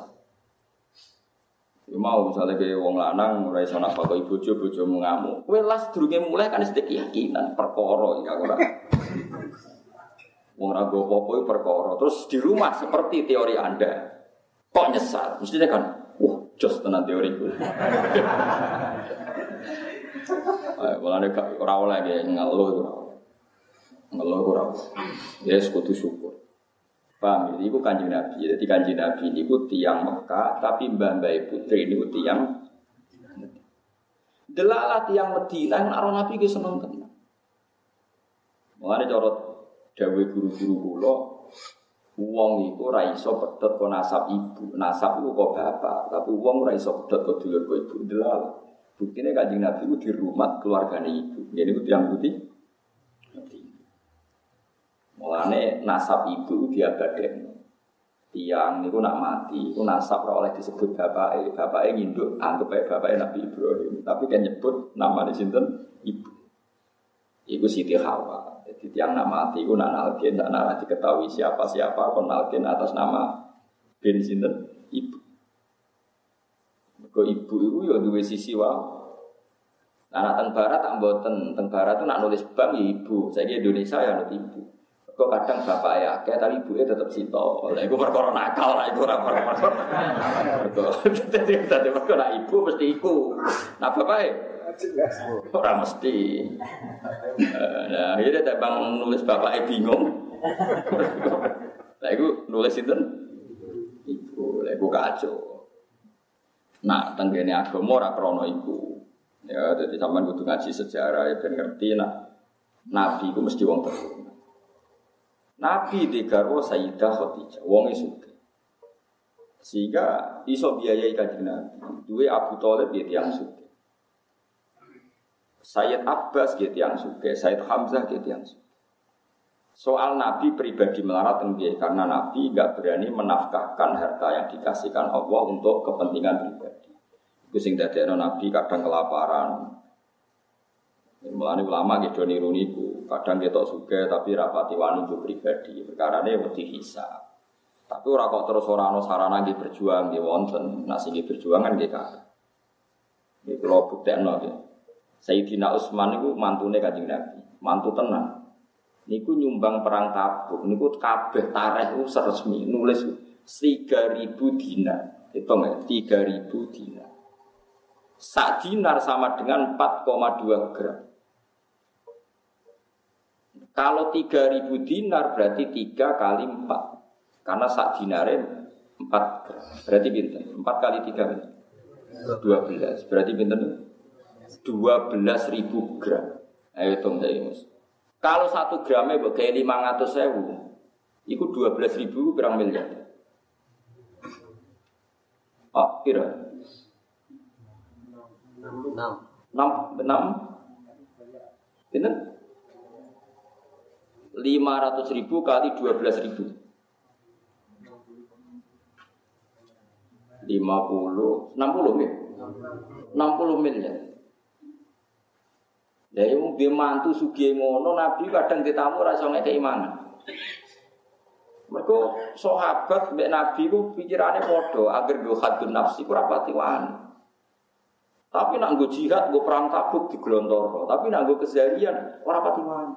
Ya mau misalnya kayak wong lanang ora iso nafkahi bojomu ngamuk. Kowe las durunge mulai kan sedek keyakinan perkara ya ora. Wong ra go apa-apa perkara. Terus di rumah seperti teori Anda. Kok nyesal? Mestinya kan, wah, jos tenan teoriku. Mulane ora oleh ge ngeluh ora. Ya kudu syukur. Paham ini ku Kanjeng Nabi. Jadi Kanjeng Nabi ini ku tiyang Mekah, tapi mbah-mbah putri ini ku tiyang delalah tiyang Madinah nek Nabi ki seneng tenan. Mulane cara dawuh guru-guru kula wong iku ora iso pedhot kok nasab ibu, nasab iku kok bapak, tapi wong ora iso pedhot kok dulur kok ibu delal. Buktine Kanjeng Nabi ku di rumah keluargane ibu. Ngene ku tiyang putih. Mulane nasab ibu diabadekno. Tiyang niku nak mati, iku nasab ora oleh disebut bapake. Bapake nginduk anggap ae bapake Nabi Ibrahim, tapi kan nyebut namane sinten? Ibu. Iku Siti Hawa. Jadi tiang nama mati, itu nak nalkin, tak narah diketahui siapa-siapa, kon nalkin atas nama bin sinten ibu. Kau ibu itu ya dua sisi wow. Anak teng barat tak mboten, teng barat itu nak nulis bank ya ibu. Saya di Indonesia ya nulis ibu. Kau kadang bapak ya, kayak tapi ibu tetap sito. Lah, ibu perkara nakal lah, ibu perkara. Jadi perkara ibu mesti iku. Nah bapak ya. Orang mesti. Nah, ini tak bang nulis bapaknya bingung. Lah iku nulis itu ibu, lah iku kacau. Nah, tenggene agama ora krana iku. Ya, dadi sampean kudu ngaji sejarah ya ben ngerti nak nabi iku mesti wong terhormat. Nabi digarwa Sayyidah Khadijah, wong sugih. Sehingga iso biayai kanjeng Nabi. Duwe Abu Thalib ya tiyang sugih. Sayyid Abbas gitu yang suka, Sayyid Hamzah gitu yang suka. Soal Nabi pribadi melarat enggak, karena Nabi enggak berani menafkahkan harta yang dikasihkan Allah untuk kepentingan pribadi. Itu sing dadekno Nabi kadang kelaparan. Mulane ulama gitu niru niku, kadang ketok suka tapi rapati wani untuk pribadi. Perkarane wedi hisab. Tapi ora kok terus ora ana sarana nggih berjuang nggih wonten, nek sing berjuang kan nggih kabeh. Iki kula buktekno nggih. Sayyidina Utsman niku mantune Kanjeng Nabi, mantu tenan. Niku nyumbang perang Tabuk, niku kabeh tarikh resmi nulis 3.000 dinar. Hitung ya, 3.000 dinar. Sak dinar sama dengan 4,2 gram. Kalau 3.000 dinar berarti 3 kali 4. Karena sak dinare 4 gram. Berarti pinten? 4 kali 3 12. Berarti pinten? 12.000 gram. Ayo hitung saya Mas. Kalau 1 gramnya bagai 500.000, itu 12.000 berapa miliar? Oh, kira 6 Ini 500.000 kali 12.000 50 60 ya? 60 miliar. Ya iku dia mantu sugih ngono Nabi kadang ditamu ora iso ngekeki mangan. Mergo sahabat mbek Nabi ku pikirane padha, agar go hadun nafsi ku ora pati wani. Tapi nak nggo jihad, nggo perang Tabuk diglontoro, tapi nak nggo keseharian ora pati wani.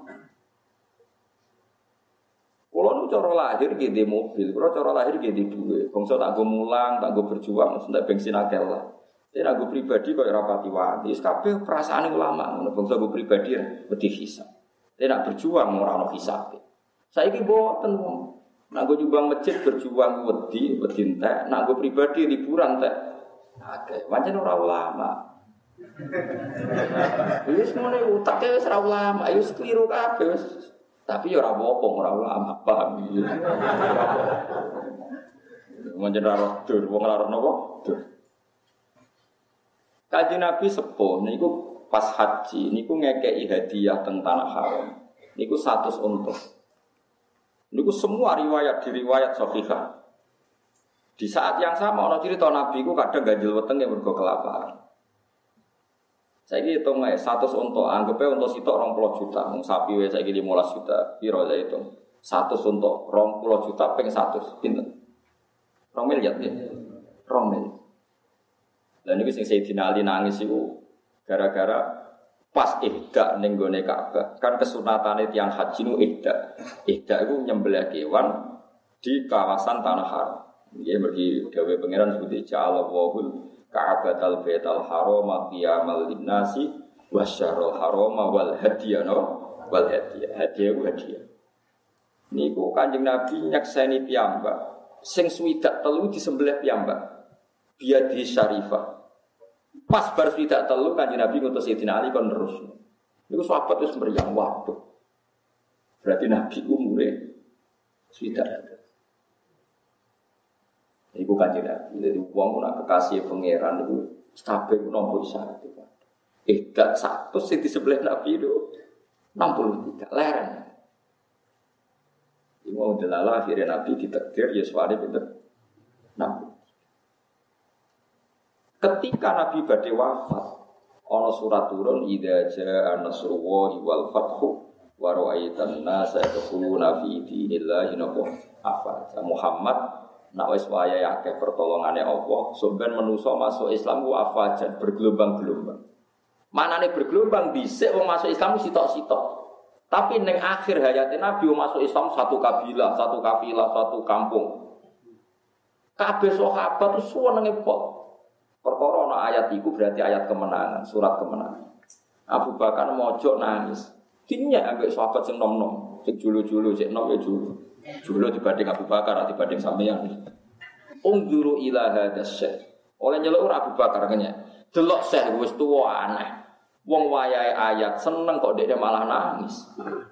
Kulo nu cara lahir nggih di mobil, kulo cara lahir nggih di duwe. Bangsa tak nggo mulang, tak nggo berjuang, entek bensin akeh lah. Tapi nak nggo pribadi kok ora pati wani. Wis kabeh perasaane ulama, ngono bangsa nggo pribadi wedi hisab. Tapi nak berjuang ora ono hisabe. Saiki mboten wong. Nak gue nyumbang masjid berjuang wedi entek, nak gue pribadi liburan entek. Oke, pancen ora ulama. Wis ngene utake wis ora ulama, wis kliru kabeh wis. Tapi ya ora apa-apa ora ulama, paham iki. Pancen ora dur, wong ora napa? Dur. Kanjeng Nabi sepuh niku pas haji niku ngekeki hadiah teng tanah haram. Niku 100 unta. Niku semua riwayat sahihah. Di saat yang sama ana cerita Nabi ku kadang ganjil wetenge mergo kelaparan. Saiki hitung ae 100 unta, anggepe unta sitok 20 juta, wong sapi wae saiki 15 juta. Piro ya hitung? 100 unta 20 juta ping 100 pinten? 2 miliar ya. 2 miliar. Lah niku sing Sayyidina Ali nangis iku gara-gara pas ihda ning gone Ka'bah. Kan kesunatane tiyang haji nu ihda. Ihda iku nyembelih kewan di kawasan tanah haram. Nggih mergi dawuh pangeran sebuti ja'alallahul Ka'batal Baital Haram qiyamal linnasi wasyarul haram wal hadiyana wal hadiyah. Hadiah. Niku Kanjeng Nabi nyakseni piyambak sing swidak telu disembelih piyambak. Biadi syarifah. Pas bar swidak telu Kanjeng Nabi ngutus Sayyidina Ali kon terus. Niku sahabat wis mriyang waduh. Berarti Nabi umure swidak. Iku Kanjeng Nabi. Jadi wong nak kekasih pangeran niku kabeh nampa isyarat itu. Dak 100 sing disembelih Nabi itu 63 leren. Iku mau delala akhirnya Nabi ditakdir ya suwane pinten. Nabi. Ketika Nabi badhe wafat, ana surat turun idza jaa nasrullahi wal fathu wa ra'aitan nasa yadkhuluna fi dinillahi afwaja. Muhammad nak wis wayahe akeh pertolongane Allah, sampeyan manusa masuk Islam ku afwajan bergelombang-gelombang. Manane bergelombang dhisik wong masuk Islam sitok-sitok. Tapi ning akhir hayate Nabi masuk Islam satu kabilah, satu kafilah, satu kampung. Kabeh sahabat itu senenge pol. Perkara ana ayat iku berarti ayat kemenangan, surat kemenangan. Abu Bakar mojok nangis. Dinyak ambek sahabat sing nom-nom, sing julu-julu, sing nom ya julu. Julu dibanding Abu Bakar, dibanding sampeyan. Unzuru ila hadas syekh. Oleh nyeluk Abu Bakar kenya. Delok syekh wis tuwa aneh. Wong wayahe ayat seneng kok dekne malah nangis.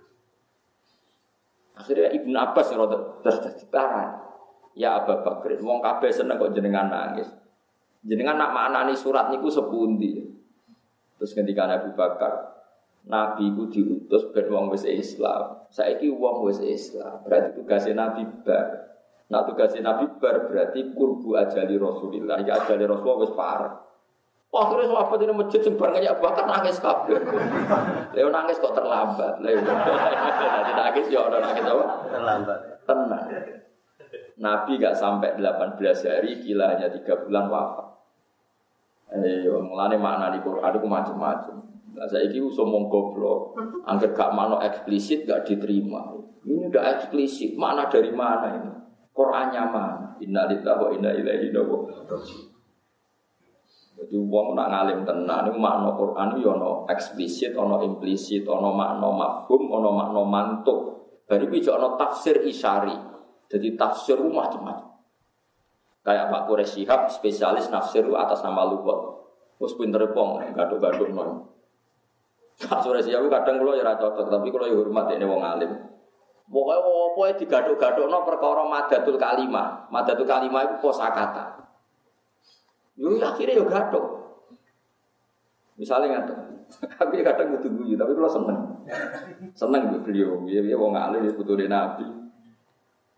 Akhirnya Ibnu Abbas rada tertarik. Ya Abu Bakar, wong kabeh seneng kok jenengan nangis. Jenengan nak maknani surat niku sepundi. Terus ketika Abu Bakar, Nabi ku diutus ben wong wis Islam. Saiki wong wis Islam, berarti tugasnya Nabi bar. Nak tugasnya Nabi bar berarti kurbu ajali Rasulillah. Ya ajali Rasulullah wis parah. Akhirnya sahabat ini masjid sing bar nyak Bakar nangis kabeh. Lha nangis kok terlambat. Lha nangis ya ora nangis apa? Terlambat. Tenang. Nabi gak sampai 18 hari, gila hanya 3 bulan wafat. Mulane makna di Quran itu macam-macam. Nah, saya ini somong goblok, angker gak makna eksplisit gak diterima. Ini udah eksplisit, makna dari mana ini? Qurannya mana? Inna lillahi wa inna ilaihi raji'un. Jadi wong nak ngalim tenan, ini makna Quran itu ono eksplisit, ono implisit, ono makna mafhum, ono makna mantuk. Dari itu ono tafsir isyari. Jadi tafsir macam-macam. Kayak Pak Quraisy Shihab spesialis nafsir atas nama lughat. Wes pinter pong, gaduk-gaduk non. Pak Quraisy Shihab kadang kula ya ora cocok, tapi kula ya hormat dene wong alim. Pokoke opo digaduk-gadukno perkara madatul kalimah. Madatul kalimah iku kosakata. Yo akhirnya yo gaduk. Misalnya ngaten. Tapi kadang kudu guyu, tapi kula seneng. Seneng beliau, piye wong alim ya putune Nabi.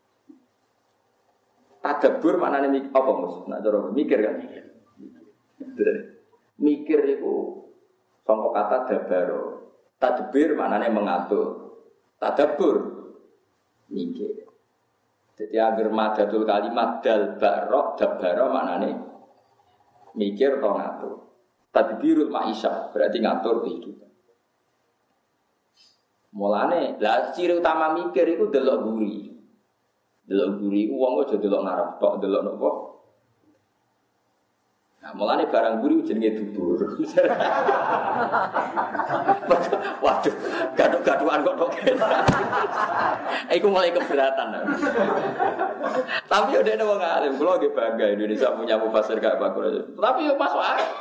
Tadabbur maknane apa Mus? Nak cara mikir kan. Mikir itu sangka kata dabaro. Tadbir maknanya mengatur. Tadabbur mikir. Jadi agar madatul kalimat dal barok dabaro maknanya mikir atau ngatur. Tadbirul ma'isyah berarti ngatur kehidupan. Mulane lah ciri utama mikir itu delok guri. Delok guri wong aja delok ngarep tok delok nopo. Nah, mulane barang guri jenenge dubur. Waduh, gaduh-gaduhan kok tok. Iku mulai keberatan. Tapi udah ada wong alim, kula nggih bangga Indonesia punya mufasir gak bagus. Tapi yo masuk akal.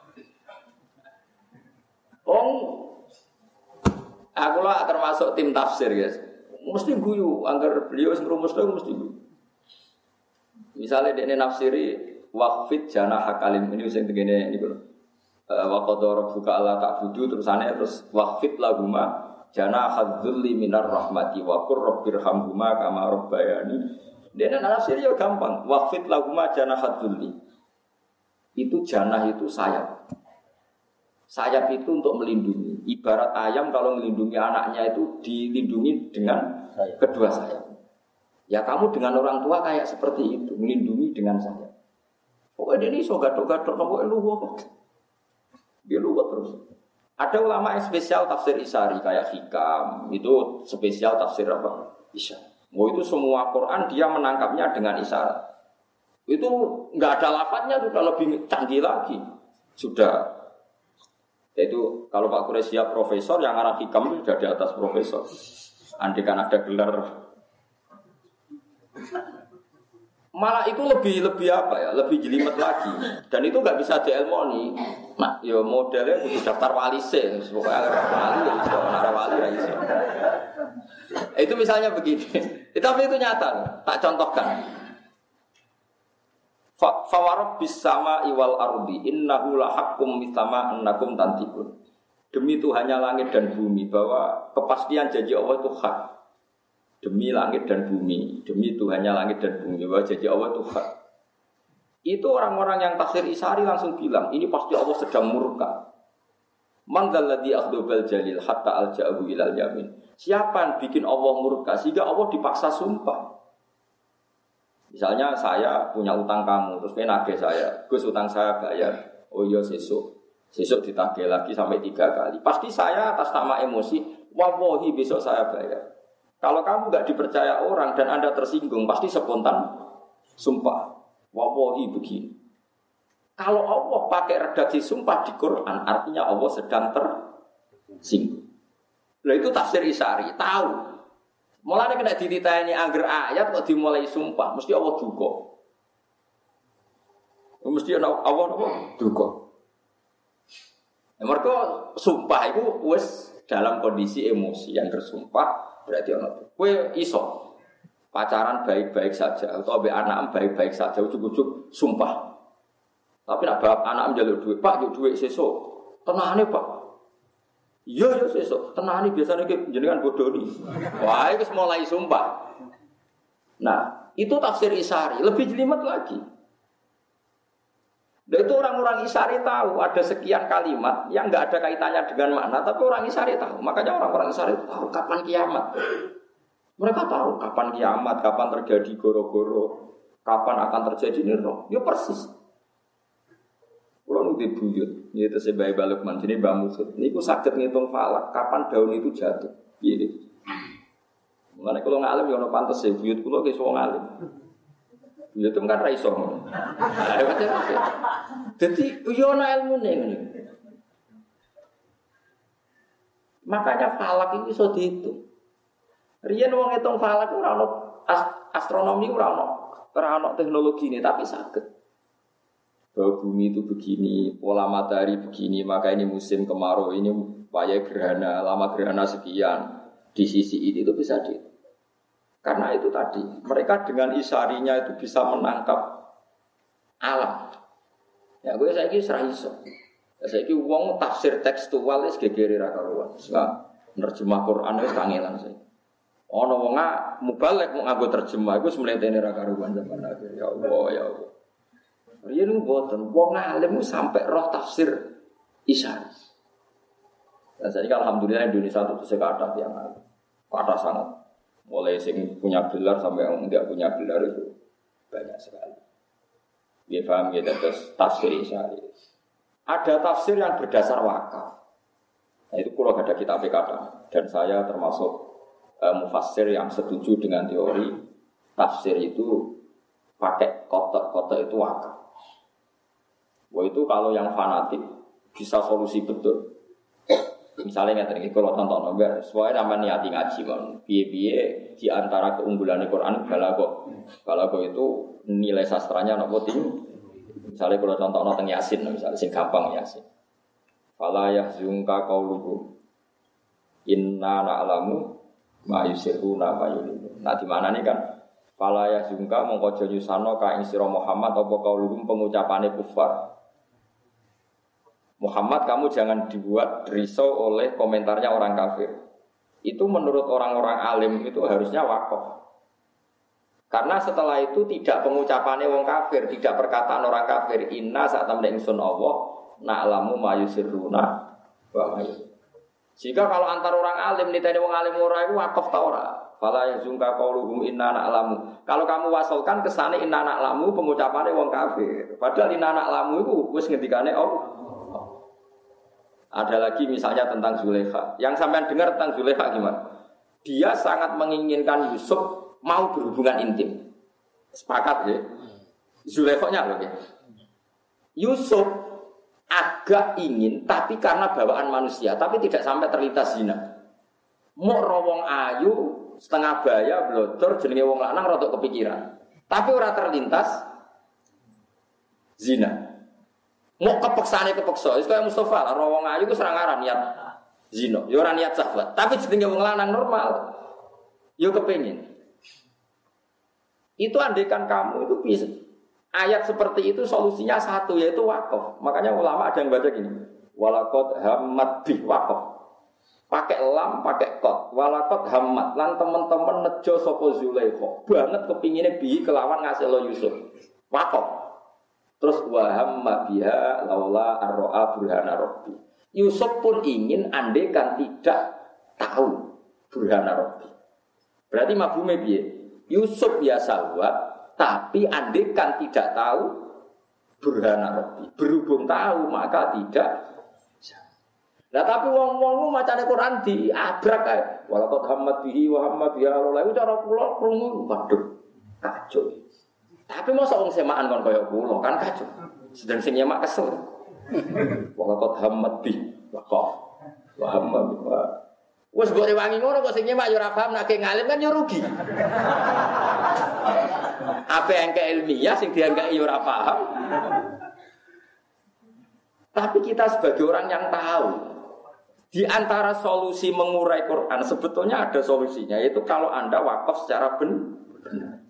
Aku lah termasuk tim tafsir, guys. Mesti guyu, anggar beliau sing rumusno mesti guyu. Misalnya dekne nafsiri waqfid jana hakalim ini sing tengene niku lho. Wa qadara rabbuka alla ta'budu terus waqfid lahuma jana hadzulli minar rahmati wa qur rabbirhamhuma kama rabbayani. Dekne nafsiri yo gampang. Waqfid lahuma jana hadzulli. Itu janah itu sayap. Sayap itu untuk melindungi. Ibarat ayam kalau melindungi anaknya itu dilindungi dengan kedua sayap. Ya kamu dengan orang tua kayak seperti itu, melindungi dengan sayap. Pokoknya ini so gatok-gatok pokoknya luwih. Dia luwih terus. Ada ulama yang spesial tafsir Isari kayak Hikam, itu spesial tafsir apa? Isari. Oh itu semua Quran dia menangkapnya dengan isyarat. Itu enggak ada lafadznya sudah lebih canggih lagi. Sudah. Yaitu kalau Pak Quraisy profesor yang arah Hikam itu sudah di atas profesor. Andai kan ada gelar. Malah itu lebih apa ya? Lebih jelimet lagi. Dan itu enggak bisa dielmoni. Nah, ya modelnya butuh daftar wali sih. Pokoknya wali iso, ora wali ra iso. Itu misalnya begini. Tapi itu nyata, tak contohkan. Fawarab bisama iwal ardi innahu lahaqqum mithama annakum tantikun. Demi Tuhannya langit dan bumi bahwa kepastian janji Allah itu hak. Demi langit dan bumi, demi Tuhannya langit dan bumi bahwa janji Allah itu hak. Itu orang-orang yang tafsir Isari langsung bilang, ini pasti Allah sedang murka. Man dzalladzi akhdabal jalil hatta alja'ahu ilal yamin. Siapa yang bikin Allah murka sehingga Allah dipaksa sumpah? Misalnya saya punya utang kamu, terus nagih saya, Gus utang saya bayar. Oh iya sesuk ditagih lagi sampai 3 kali. Pasti saya atas nama emosi, wallahi besok saya bayar. Kalau kamu nggak dipercaya orang dan Anda tersinggung, pasti spontan sumpah, wallahi begini. Kalau Allah pakai redaksi sumpah di Quran, artinya Allah sedang tersinggung. Nah itu tafsir Isari, tahu. Mulane kena dititeni angger ayat kok dimulai sumpah, mesti Allah duka. Mesti ana Allah napa? Duka. Mergo sumpah itu wis dalam kondisi emosi yang bersumpah berarti ana. Kowe iso pacaran baik-baik saja atau ambek anak baik-baik saja ujug-ujug sumpah. Tapi nek bab anak njaluk duit, Pak, yo duit sesuk. Tenane, Pak. Iya sesuk, tenani biasanya jenengan bodoni. Wah, itu mulai sumpah. Nah, itu tafsir Isari, lebih jelimet lagi. Dan itu orang-orang Isari tahu ada sekian kalimat yang enggak ada kaitannya dengan makna, tapi orang Isari tahu. Makanya orang-orang Isari tahu kapan kiamat. Mereka tahu kapan kiamat, kapan terjadi goro-goro, kapan akan terjadi niro. Ya persis. Kalau nanti buyut, ini tersebut balik mancini bangun. Ini aku sakit ngitung falak. Kapan daun itu jatuh? Ini. Mengenai kalau ngalim, ya no pantas ya. Buyut kalau kisah ngalim. Buyut itu kan raiso. Jadi, ya no ilmu nih. Makanya falak ini bisa dihitung. Rian wong ngitung falak ora ono astronomi ora ono teknologi ini, tapi sakit. Bahwa bumi itu begini, pola matahari begini, maka ini musim kemarau, ini upaya gerhana, lama gerhana sekian, di sisi ini itu bisa di. Karena itu tadi, mereka dengan isarinya itu bisa menangkap alam. Ya gue saya kira serah iso. Saya kira uang tafsir tekstual itu gegeri rakaruan. Sekarang nerjemah Quran itu kangelan saya. Ono wonga mubalek mau nganggo terjemah, gue semelihnya rakaruan zaman akhir. Ya Allah, ya Allah. Riyen mboten wong alim sampai roh tafsir isyarah. Dan saya alhamdulillah Indonesia itu sekadar yang kata sangat. Mulai sing punya gelar sampai yang tidak punya gelar itu banyak sekali. Dia paham ya terus tafsir isyarah. Ada tafsir yang berdasar wakaf. Nah, itu kalau ada kitab kata dan saya termasuk mufassir yang setuju dengan teori tafsir itu pakai kotak-kotak itu wakaf. Wah itu kalau yang fanatik bisa solusi betul. Misalnya nggak tadi kalau tonton nomor, soalnya namanya niati ngaji kan, biye di antara keunggulan Al-Quran balago itu nilai sastranya nopo tinggi. Misalnya kalau contoh nonton Yasin, misalnya sing gampang Yasin. Fala yahzunka qauluhum inna na'lamu ma yusirruna ma yulinu. Nah di mana nih kan? Fala yahzunka mongko aja nyusano ka ing sira Muhammad apa qauluhum pengucapane kufar. Muhammad kamu jangan dibuat risau oleh komentarnya orang kafir. Itu menurut orang-orang alim itu harusnya wakaf. Karena setelah itu tidak pengucapannya wong kafir, tidak perkataan orang kafir. Inna saat temen ingsun Allah na'lamu ma yusirruna wa ma yulinu. Jika kalau antar orang alim niteni wong alim ora iku wakaf ta ora? Fala yazunka qauluhum inna na'lamu. Kalau kamu wasolkan kesane inna na'lamu pengucapannya wong kafir. Padahal inna na'lamu itu wis ngendikane Allah. Ada lagi misalnya tentang Zulaikha. Yang sampean dengar tentang Zulaikha gimana? Dia sangat menginginkan Yusuf mau berhubungan intim. Sepakat ya? Zulaikha-nya loh ya. Yusuf agak ingin tapi karena bawaan manusia, tapi tidak sampai terlintas zina. Mau rawong ayu setengah baya blodor jenenge wong lanang rada kepikiran. Tapi ora terlintas zina. Mau kepeksane kepeksa, wis kaya Mustafa, rawong ayu ku serang aran niat zina, ya ora niat syahwat. Tapi jenenge wong lanang normal, yo kepengin. Itu andaikan kamu itu bisa ayat seperti itu solusinya satu yaitu wakaf. Makanya ulama ada yang baca gini, walaqad hammat bi wakaf. Pakai lam, pakai qad. Walaqad hammat lan teman-teman nejo sapa Zulaikha. Banget kepingine bi kelawan ngasihlo Yusuf. Wakaf. Terus wahamma biha laula arro'a burhana rabbi. Yusuf pun ingin andaikan tidak tahu burhana rabbi. Berarti mafhume piye? Yusuf biasa buat, tapi andaikan tidak tahu burhana rabbi. Berhubung tahu maka tidak. Nah tapi wong-wong macane Quran diabrak kae. Walaqad hammat bihi wa hamma biha laula iku cara kula krungu waduh kacau. Tapi masa wong semaan kon kaya kula kan kacau. Sedang sing nyemak kesel. Walaqad hammat bi waqaf wa hamma bi. Wes mbok rewangi ngono kok sing nyemak yo ora paham nek ngalim kan yo rugi. Apa yang ke ilmiah sing dianggap yo ora paham. Tapi kita sebagai orang yang tahu di antara solusi mengurai Quran sebetulnya ada solusinya yaitu kalau Anda wakaf secara benar.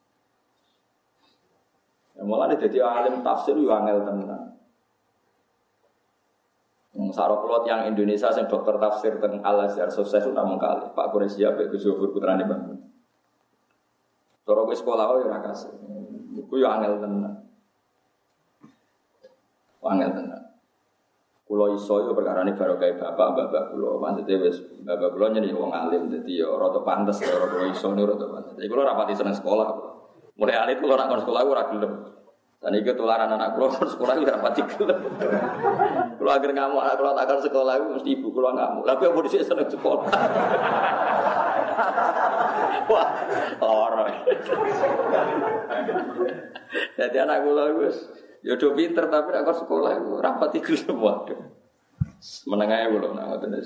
Mulane dadi alim tafsir yo angel tenan. Sarok kulot yang Indonesia sing dokter tafsir teng Al-Azhar sukses namung kali. Pak Quraisy apik Gus Yofur putrane Bang. Cara kowe sekolah yo ora kasih. Iku yo angel tenan. Angel tenan. Kulo iso yo perkarane barokah bapak-bapak kulo. Maksude wis bapak kulo nyene wong alim dadi yo rada pantes karo kulo iso niku rada pantes. Dadi kulo ora pati seneng sekolah. Mulai alit kalau nak sekolah ora gelem. Dan iki tularan anak kula sekolah ora pati gelem. Kula agar ngamuk anak kula takkan sekolah iku mesti ibu kula ngamuk. Tapi apa dhisik seneng sekolah. Wah, ora. Jadi anak kula wis ya do pinter tapi nek sekolah iku ora pati gelem waduh. Meneng ae kula nak ngoten.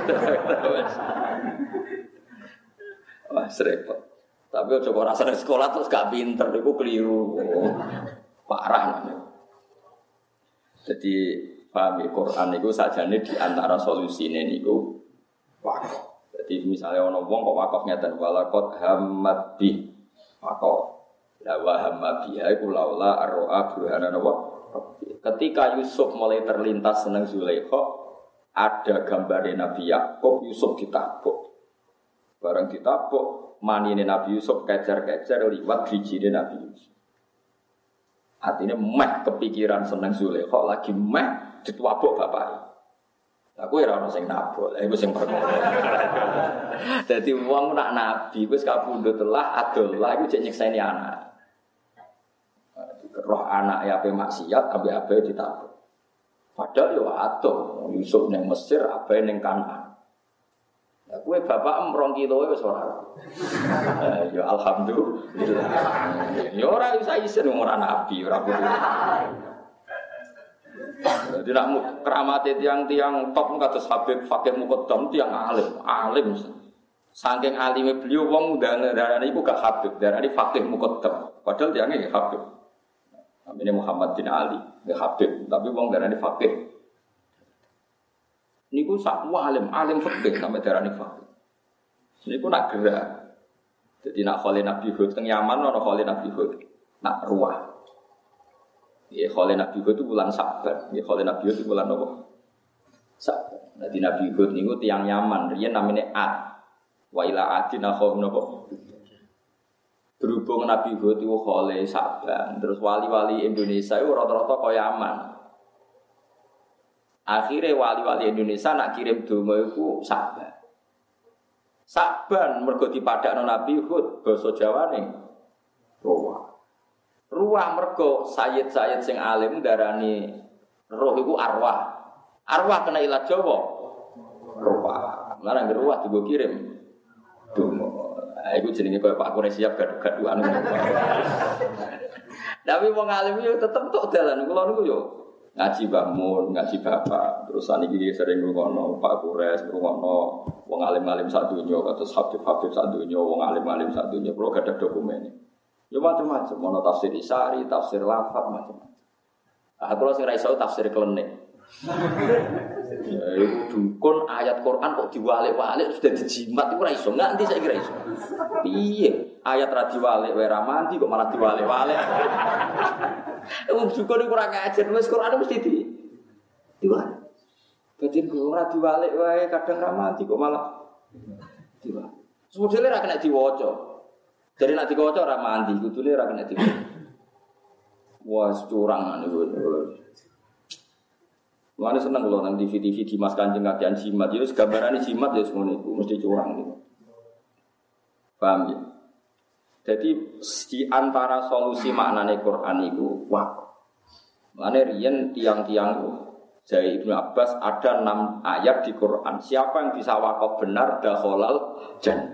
Wah, repot. Tapi coba rasanya sekolah terus gak pinter, itu keliru, parah namanya. Jadi paham Quran itu saja nih di antara solusi ini itu wakaf. Jadi misalnya orang wong kok wakafnya dan walaqad hammat bi wakaf. La wa hamma biha iku laula arro'a burhana wa. Ketika Yusuf mulai terlintas seneng Zulaikha, ada gambarnya Nabi Yakub Yusuf ditabuk. Barang ditabuk manine Nabi Yusuf kejar-kejar liwat gijine Nabi Yusuf. Artinya meh kepikiran seneng Zulaikha lagi meh dituabuk bapak. Aku ora ono sing nabok, lha iku sing perkara. Dadi wong nak nabi wis kapundhut telah adolah iku cek nyekseni anak. Roh anak ya ape maksiat ape-ape ditabok. Padahal yo atuh Yusuf ning Mesir ape ning Kanaan. Lah kowe bapak 2 kilo wis ora. Ya alhamdulillah. Ya ora bisa isen ora nabi, ora kudu. Jadi nak keramate tiang-tiang top kados Habib Fakih Muqaddam tiang alim. Saking alime beliau wong darane iku gak Habib, darane Fakih Muqaddam. Padahal tiange nggih Habib. Namanya Muhammad bin Ali, nggih Habib, tapi wong darane Fakih. Niku sak alim fikih sampe darane Fakih. Niku nak gerak. Jadi nak khole Nabi Hud teng Yaman ana khole Nabi Hud. Nak ruah. Ya khole Nabi Hud itu bulan Saban. Ya khole Nabi Hud itu bulan apa? Saban. Jadi Nabi Hud niku tiyang Yaman, riyen namine Ad. Wa ila adin akhum napa? Berhubung Nabi Hud itu khole Saban, terus wali-wali Indonesia itu rata-rata kaya Yaman. Akhirnya wali-wali Indonesia nak kirim donga iku Saban. Saban mergo dipadakno Nabi Hud basa Jawane Ruah. Ruah mergo sayyid-sayyid sing alim darani roh iku arwah. Arwah kena ilat Jawa. Ruah. Lan ruah digo kirim donga. Iku jenenge koyo Pak Kure siap gaduh-gaduhan. Tapi wong alim yo tetep tok dalan kula niku yo ngaji Mbah Mun, ngaji Bapak. Terus saniki sering ngrungokno Pak Kures, ngrungokno wong alim-alim sak donya kados Habib-habib sak donya, wong alim-alim sak donya. Kula gadah dokumen. Ya macam-macam, ono tafsir Isari, tafsir Lafat macam-macam. Aku lho sing ra iso tafsir klenik. Ya iku dukun ayat Quran kok diwalik-walik sudah dijimat iku ora iso. Nganti saiki ra iso. Piye? Ayat ra diwalik wae ra mandi kok malah diwalik-walik. Wong dukun iku ora ngajar, wis Quran mesti diwalik. Dadi ora diwalik wae kadang ra mandi kok malah diwalik. Sebetulnya ra kena diwaca. Jadi nak dikocok ora mandi, kudune ora kena dikocok. Wah, curang niku. Mulane seneng kula nang TV-TV di Mas Kanjeng kakean jimat, ya wis gambarane jimat ya semono iku, mesti curang niku. Paham ya? Jadi di antara solusi maknane Quran iku wakaf. Mulane riyen tiang-tiang dari Ibnu Abbas ada 6 ayat di Quran. Siapa yang bisa wakaf benar dakhalal jannah.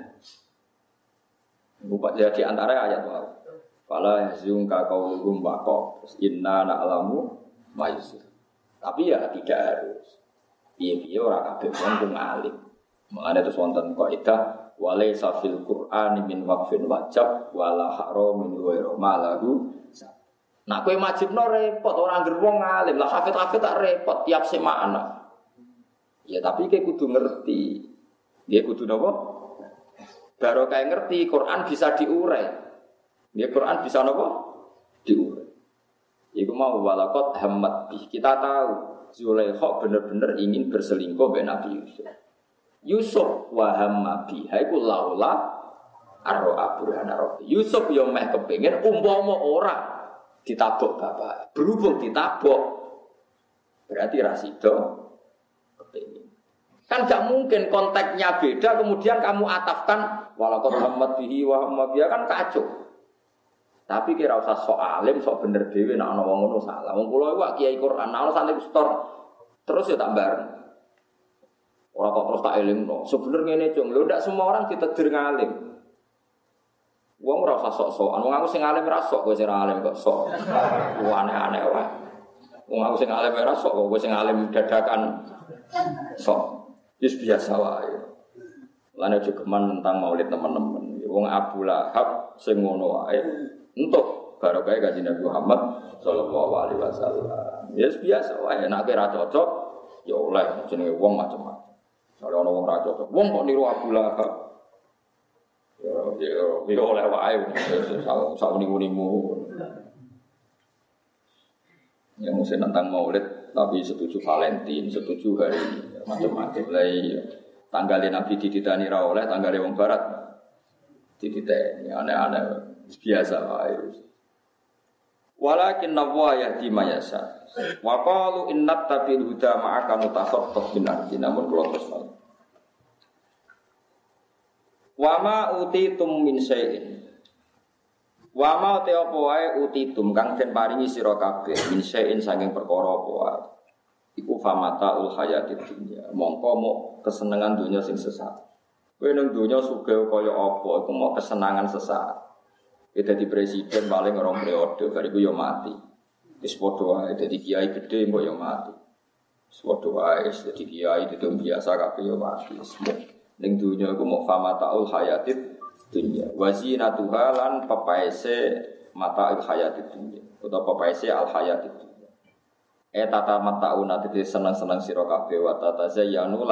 Bukan jadi antara ayat wal. Fala yahzunka qauluhum waqaf. Inna na'lamu ma yusir. Tapi ya tidak harus. Piye-piye ora kabeh wong alim. Mangane terus wonten kaidah walaysa fil Qur'ani min waqfin wajib wala haramin ghairu malahu. Nah kowe wajibno repot ora ngger wong alim. Lah hafid-hafid tak repot tiap semana. Ya tapi kowe kudu ngerti. Dia kudu napa? Baru kayak ngerti Quran bisa diurai. Ya Quran bisa apa? Diurai. Iku mau walaqad hammat bi. Kita tahu Zulaikha benar-benar ingin berselingkuh dengan Nabi Yusuf. Yusuf wa hamma bi. Iku laula arra burhana rabbi. Yusuf yo meh kepengin umpama ora ditabok bapak. Berhubung ditabok berarti ra sida kepengin. Kan gak mungkin konteksnya beda kemudian kamu atafkan walaqad hammat bihi wa hamma biha kan kacau. Tapi kira usah sok alim, sok bener dhewe nek ana wong ngono salah. Wong kula iku kiai Quran, ana santri store terus ya tak bareng. Ora kok terus tak elingno. Sebenarnya ngene, Cung. Lho ndak semua orang ditedir ngalim. Wong ora usah sok-sokan. Wong aku sing alim ra sok, kowe sing alim kok sok. Aneh-aneh wae. Wong aku sing alim ra sok, kowe sing alim dadakan sok. Wis biasa wae. Lan aja geman tentang maulid teman-teman. Wong Abu Lahab sing ngono wae. Entuk barokah Kanjeng Nabi Muhammad sallallahu alaihi wasallam. Ya biasa wae nek ora cocok ya oleh jenenge wong macam-macam. Soale ana wong ra cocok. Wong kok niru Abu Lahab. Ya oleh wae sak unimu. Yang mesti tentang maulid tapi setuju Valentine, setuju hari ini macam-macam lah. Tanggalnya Nabi dititani ra oleh, tanggalnya wong barat dititani aneh-aneh biasa wae. Walakin nawwa yahdi mayasa. Wa qalu innat tabil huda ma'aka mutakhaffaf bin ardi namun kula terus. Wa ma utitum min syai'in. Wa ma te apa wae utitum kang den paringi sira kabeh min syai'in saking perkara apa wae. Iku famataul hayatid dunya. Mongko mok kesenengan dunya sing sesaat. Kowe nang dunya sugih kaya apa iku mok kesenangan sesaat. Dadi presiden paling orang periode bariku yo mati. Wis padha wae dadi kiai gedhe mbok yo mati. Wis padha wae dadi kiai itu biasa kabeh yo mati. Ning dunya iku mok famataul hayatid dunya. Wazinatuha lan pepaese mataul hayatid dunya. Utawa pepaese al hayatid dunya. Tata matauna dadi seneng-seneng sira kabeh wa tatazayyanu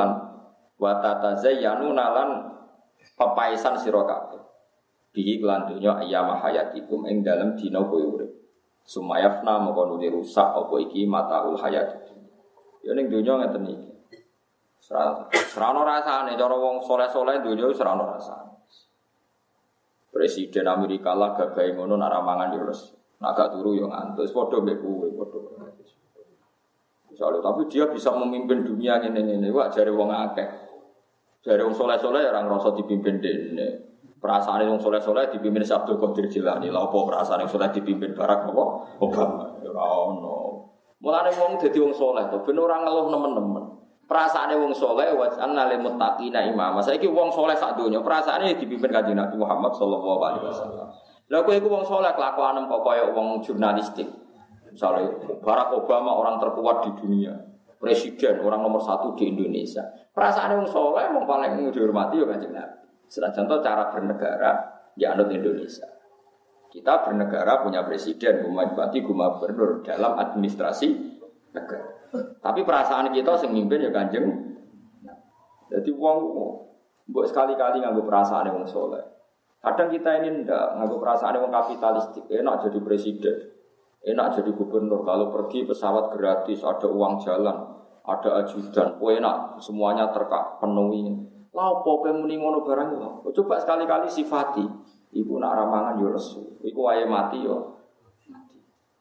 lan pepaesan sira kabeh. Bihi lan dunya ayyama hayatikum ing dalem dina kowe urip. Sumayafna moko nuli rusak apa iki mataul hayat. Ya ning dunya ngeten iki. Serana rasane cara wong saleh-saleh dunya wis serana rasane. Presiden Amerika lah gagahe ngono nak ramangan yo les. Nak gak turu yo ngantuk. Padha mbek kowe padha. Soale tapi dia bisa memimpin dunia ngene-ngene wae jare wong akeh. Jare wong saleh-saleh ora ngrasa dipimpin dene. Perasaan wong soleh-soleh dipimpin Abdul Qadir Jilani. Lha apa perasaan soleh dipimpin Barack Obama? Ora ono. Mulane wong dadi wong soleh to ben ora ngeluh nemen-nemen. Perasaane wong soleh wa anna lil muttaqina imama. Saiki wong soleh sak donya perasaane dipimpin Kanjeng Nabi Muhammad sallallahu alaihi wasallam. Lha kowe iku wong soleh kelakuanem kok kaya wong jurnalistik. Misalnya Barack Obama orang terkuat di dunia, presiden orang nomor 1 di Indonesia. Perasaane wong soleh wong paling dihormati ya Kanjeng Nabi. Setelah contoh cara bernegara ya anut Indonesia. Kita bernegara punya presiden, bupati, gubernur dalam administrasi negara. Tapi perasaan kita sing mimpin ya Kanjeng. Jadi wong mbok sekali-kali nganggo perasaan wong saleh. Kadang kita ini ndak nganggo perasaan wong kapitalistik, enak jadi presiden. Enak jadi gubernur kalau pergi pesawat gratis, ada uang jalan, ada ajudan, enak semuanya terpenuhi. Lah opo kowe muni ngono barang lho. Coba sekali-kali sifati. Iku nak ramangan yo lesu. Iku wae mati yo mati.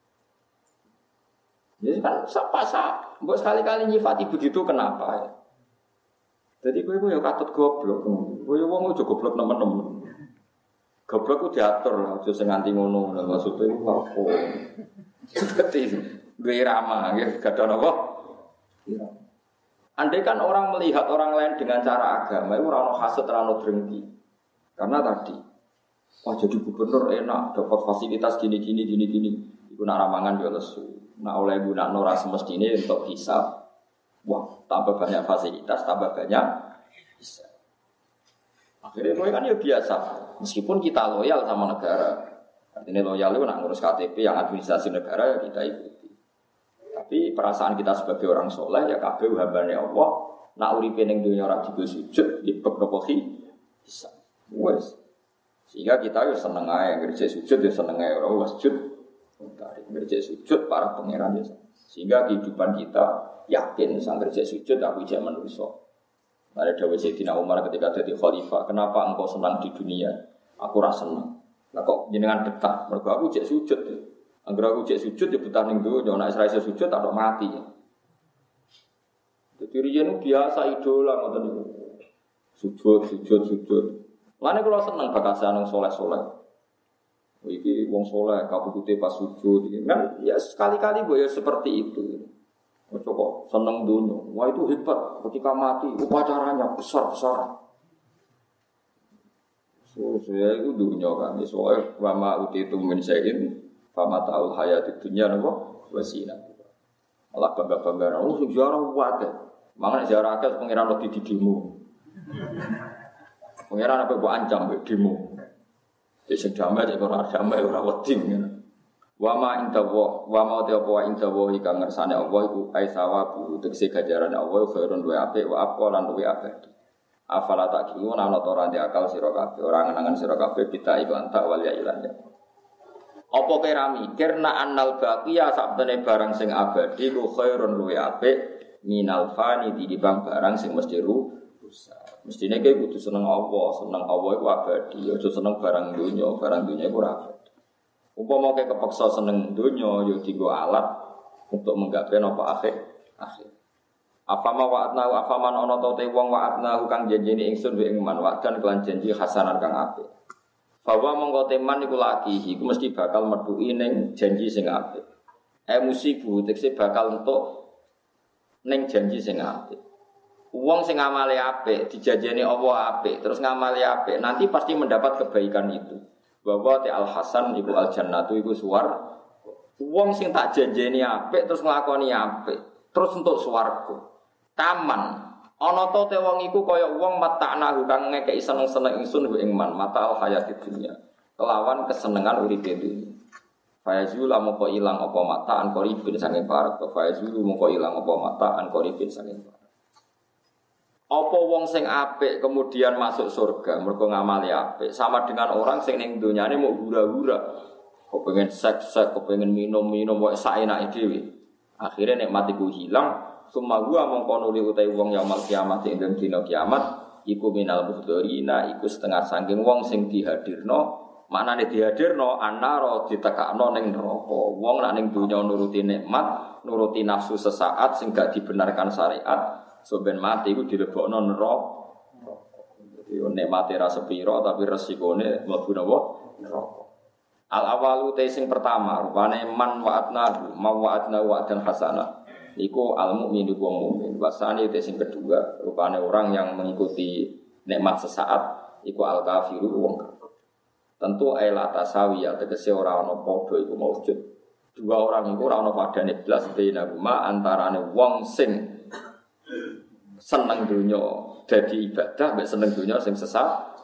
Jadi kan sapa-sapa. Mbok sekali-kali nyifati begitu kenapa ya? Jadi kowe yo katut goblok. Kowe wong aja goblok nemen-nemen. Goblok ku diatur lah, aja sing nganti ngono. Maksude iku apa? Dadi duwe irama, nggih, gadha napa? Irama. Andai kan orang melihat orang lain dengan cara agama, itu orang hasut, orang drengki. Karena tadi, wah jadi gubernur enak, dapat fasilitas gini. Iku nak ramangan dia lesu. Nak oleh guna nora semestinya untuk hisab. Wah, tambah banyak fasilitas, tambah banyak hisab. Akhirnya kan ya biasa. Meskipun kita loyal sama negara. Artinya loyal itu nak ngurus KTP yang administrasi negara ya kita ikuti. Tapi perasaan kita sebagai orang soleh ya kabeh hambane Allah. Nak uripe ning dunya ora digo sujud, ya bab napa bisa. Wes. Sehingga kita yo seneng ae ngerjek sujud ya seneng ae ora wasjud. Ngerjek sujud para pangeran ya. Sehingga kehidupan kita yakin sang ngerjek sujud aku jek manusa. Ada dawuh Sayyidina Umar ketika jadi khalifah, kenapa engkau senang di dunia? Aku ora seneng. Lah kok jenengan betah? Mergo aku jek sujud. Angger aku cek sujud ya betah ning donya, nek ora iso sujud tak mati. Dadi riyen biasa idola ngoten niku. Sujud. Lane kula seneng bakasan wong saleh-saleh. Iki wong saleh kabudute pas sujud iki. Kan ya sekali-kali ya seperti itu. Ojo kok seneng donya. Wah itu hebat ketika mati upacaranya besar-besaran. Saya itu dunia kan, soalnya wama utitu min syai'in fama ta'ul hayatid dunya napa wasina. Allah bangga-bangga, oh sejarah wae. Mangane sejarah akeh pangeran wedi didemo. Pangeran apa mbok ancam mbek demo. Sing damai sing ora damai ora wedi ngene. Wa ma intawa wa ma ta apa intawa iki ngersane Allah iku ai sawabu tegese ganjaran Allah khairun wa apik wa aqwa lan luwe abadi. Afala taqiun ana ora ndek akal sira kabeh ora ngenangan sira kabeh kita iklan tak wal ya ilan ya. Apa kira mikir nak annal baqiya sabdene barang sing abadi ku khairun luwe apik minal fani dibanding barang sing mesti rusak. Mestine kowe kudu seneng Allah iku abadi, aja seneng barang dunya iku ora abadi. Umpama kowe kepeksa seneng donya ya dienggo alat untuk menggapai napa akhir. Afama wa'atnahu afaman ana ta te wong wa'atnahu kang janjine ingsun wa ing man wa'dan kelan janji hasanan kang apik. Bahwa mongko teman iku laki iku mesti bakal metuki ning janji sing apik. Musibu tekse bakal entuk ning janji sing apik. Wong sing ngamale apik dijanjeni Allah apik terus ngamale apik nanti pasti mendapat kebaikan itu. Bahwa al hasan iku al jannatu iku suwar. Wong sing tak janjeni apik terus nglakoni apik terus entuk swarga. Taman ana to te wong iku kaya wong mata'nahu kang ngekeki seneng-seneng ingsun ing man matal hayatid dunya. Kelawan kesenengan uripe dunya. Fayazul moko ilang apa mataan koribin saking parak. Fayazul moko ilang apa mataan koribin saking parak. Apa wong sing apik kemudian masuk surga mergo ngamali apik sama dengan orang sing ning donyane mau hura-hura. Kepengin seks, kepengin minum-minum wae saenake dhewe. Akhire nikmat iku hilang, summa gua mongko nuli utahe wong yaumul kiamat ing dina kiamat iku minal muhdorina iku setengah saking wong sing dihadirno. Maknane dihadirno annara ditekakno ning neraka. Wong nek ning donya nuruti nikmat, nuruti nafsu sesaat sing gak dibenarkan syariat. Soben mati iku dilebokno neraka. Yo nikmate ra sepira tapi resikone mlebu neraka. Al awalu te sing pertama rupane man wa'atna wa'dan hasanah. Iku al mukmin iku wong mukmin. Wasane te sing kedua rupane orang yang mengikuti nikmat sesaat iku al kafiru wong kafir. Tentu aila tasawiyah tegese ora ana padha iku maujud. Dua orang iku ora ana padane blas bainahuma antarane wong sing seneng dunya dadi ibadah mek seneng dunya sing sesat.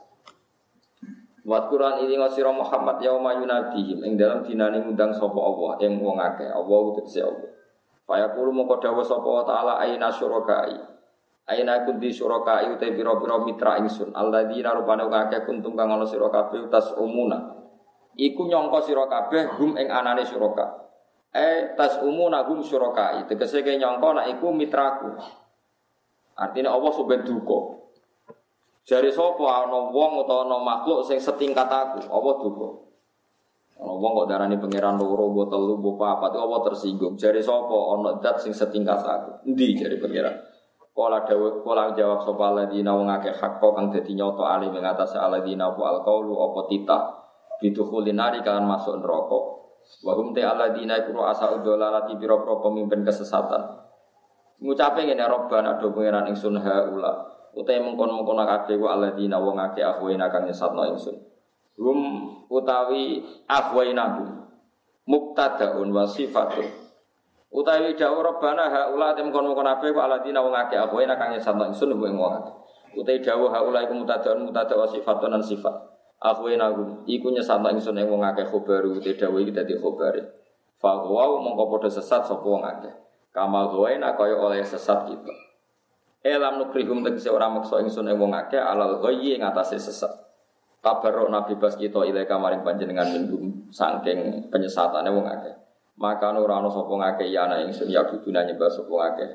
Wa Quran ini ngasira Muhammad yauma yunadihim ing dalam dinane ngundang sapa Allah ing wong akeh Allah utus Allah. Fa yaqulu moko dawuh sapa taala aina syurakai. Aina kunti syurakai uta pira-pira mitra ingsun alladzina rupane akeh kuntum kang ana sira kabeh tas umuna. Iku nyangka sira kabeh hum ing anane syuraka. Tas umuna hum syurakai tegese ke nyangka nek iku mitraku. Artinya Allah soben duka. Jare sapa ana wong utawa ana makhluk sing setingkat aku, Allah duka. Ana wong kok darani pangeran loro, mbok telu, mbok papat, Allah tersinggung. Jare sapa ana zat sing setingkat aku? Endi jare pangeran? Kala jawab sapa alladzina wong akeh hak kang dadi nyata ali ing atase alladzina wa alqaulu apa titah bitukhulin nari kan masuk neraka. Wa hum ta alladzina iku asa'ud dalalati pira-pira pemimpin kesesatan. Ngucape ngene Rabbana do pangeran ingsun haula utahe mengkon-mengkon kabeh wa alladzina wong akeh ahwaina kang nyesatno ingsun hum utawi ahwaina mubtadaun wa sifatun utawi dawuh Rabbana haula te mengkon-mengkon kabeh wa alladzina wong akeh ahwaina kang nyesatno ingsun ing wong akeh utawi dawuh haula iku mubtadaun mubtada wa sifatun lan sifat ahwaina iku nyesatno ingsun ing wong akeh khobaru utawi dawuh iki dadi khobare fa wa mongko padha sesat sapa wong akeh kamal ghawaina kaya oleh sesat kita. Elam nukrihum tegese ora maksa ingsun ing wong akeh alal ghayyi ing atase sesat. Tabarruk nabi bas kita ilaika maring panjenengan minggum saking penyesatane wong akeh. Maka ora ana sapa ngakeh ya ana ingsun ya buduna nyembah sapa akeh.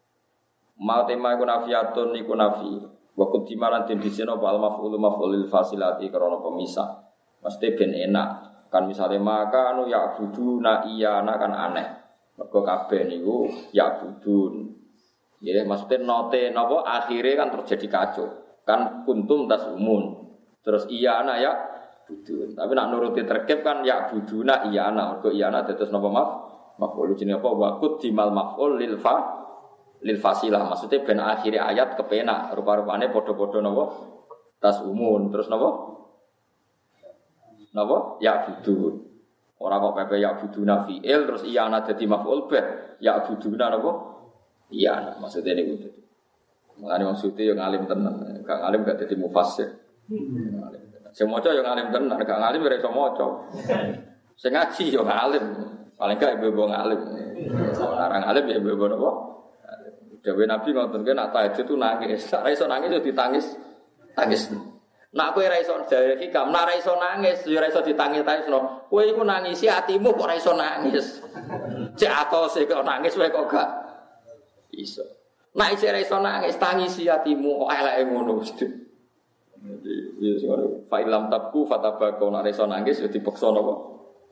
Ma tema iku nafiatun iku nafi. Wa kudimalan den disena apa al maf'ul maf'ulil fasilati karena pemisah. Mesti ben enak. Kan misale maka anu ya buduna iya ana kan aneh. Mergo kabeh niku ya budun. Ya maksudnya note napa akhire kan terjadi kacau. Kan kuntum tasumun. Terus iya ana ya budun. Tapi nak nuruti terkep kan ya buduna iya ana. Mergo iya ana dados napa maf'ul jenenge apa waqut dimal maf'ul lil fasilah. Maksudnya ben akhire ayat kepenak rupa-rupane padha-padha napa tasumun. Terus napa ya budun. Ora kok pepe ya buduna fi'il terus iya ana dadi maf'ul bih ya buduna napa iya ana maksudnya niku dadi mulane maksudnya yo ngalim tenan gak ngalim gak dadi mufassir sing maca yo ngalim tenan gak ngalim ora iso maca sing ngaji yo ngalim paling gak ibu ngalim ora ngalim ya ibu napa dewe nabi ngoten ki nek tahajud tu nangis ora iso nangis yo ditangis Nak kowe ora iso jare hikam, nak ora iso nangis, ya ora iso ditangis-tangisno. Kowe iku nangisi atimu kok ora iso nangis. Cek atose kok nangis wae kok gak iso. Nak isih ora iso nangis, tangisi atimu kok eleke ngono mesti. Jadi ya sing fa ilam tabku fatabaqo nak ora iso nangis ya dipaksa napa?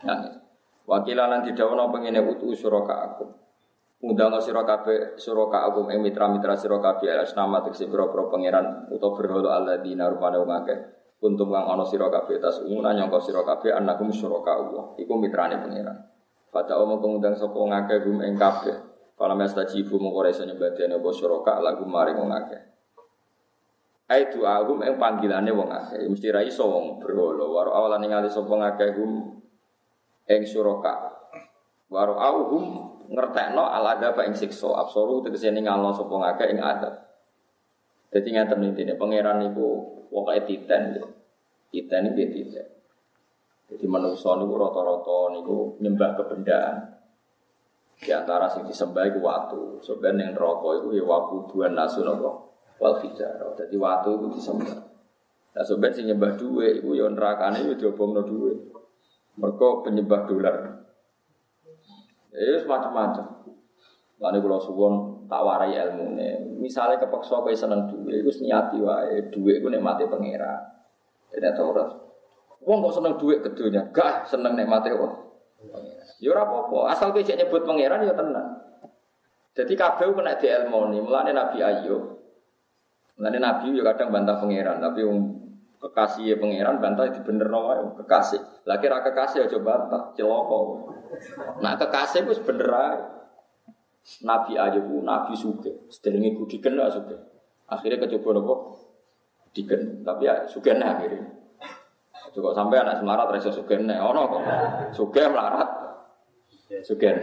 Nangis. Wakilan didhawuhna pengene utu suraka aku. Undang sira kabeh suraka aku mitra-mitra sira kabeh asnama tekse pira-pira pangeran utawa berhala alladzina rupane wong akeh. Kuntum kang ana sira kabeh tas umuna nyangka sira kabeh anakum suraka Allah. Iku mitrane pangeran. Pada omong ngundang sapa ngakeh gum ing kabeh. Kala mestajibu mung ora iso nyembadani apa suraka lagu maring wong akeh. Ai doa gum ing panggilane wong akeh. Mesti ra iso wong berhala. Waro awalan ningali sapa ngakeh gum ing suraka. Waro auhum ngertekno alada apa ing siksa absoru tegese ningalno sapa ngakeh ing adab. Dadi ngaten intine pangeran niku pokoke titen. Titen iki titen. Jadi manusia niku rata-rata niku nyembah kebendaan. Di antara sing disembah iku watu. Sebenarnya ning neraka iku ya wabuduan nasun apa wal hijrah. Dadi watu iku disembah. Lah sampeyan sing nyembah dhuwit iku ya nerakane ya diobongno dhuwit. Mergo penyembah dolar. Macam-macam. Lan kula suwun tak warai ilmune. Misale kepeksa kowe seneng dhuwit, iku niati wae dhuwit iku nikmate pangeran. Dene ora. Wong kok seneng dhuwit kedonya, gak seneng nikmate wong. Ya ora apa-apa, asal kowe nyebut pangeran ya tenan. Jadi kabeh kena dielmoni, mulane Nabi Ayub. Mulane Nabi ya kadang bantah pangeran, tapi kekasih pangeran bantah dibenerno wae kekasih. Lah kira kekasih aja bantah, celaka. Nah kekasih wis bener ae. Nabi Ayub nabi sugih, sedherenge diken gak sugih. Akhire kecoba napa? Diken, tapi ya sugih akhire. Kok sampai anak semarat ra iso sugih nek ana kok. Sugih melarat. Sugih.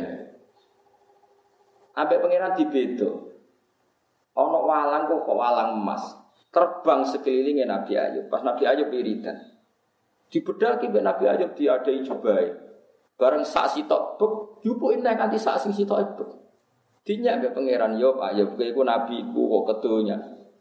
Ambek pangeran dibedo. Ana walang kok walang emas. Terbang sekelilinge Nabi Ayub. Pas Nabi Ayub wiridan. Dibedaki mbek Nabi Ayub diadai jubahe. Bareng sak sitok bek, diupuki nek kanthi sak sing sitok bek. Dinyak mbek pangeran Ayub, Ayub kowe iku nabiku kok kedonya.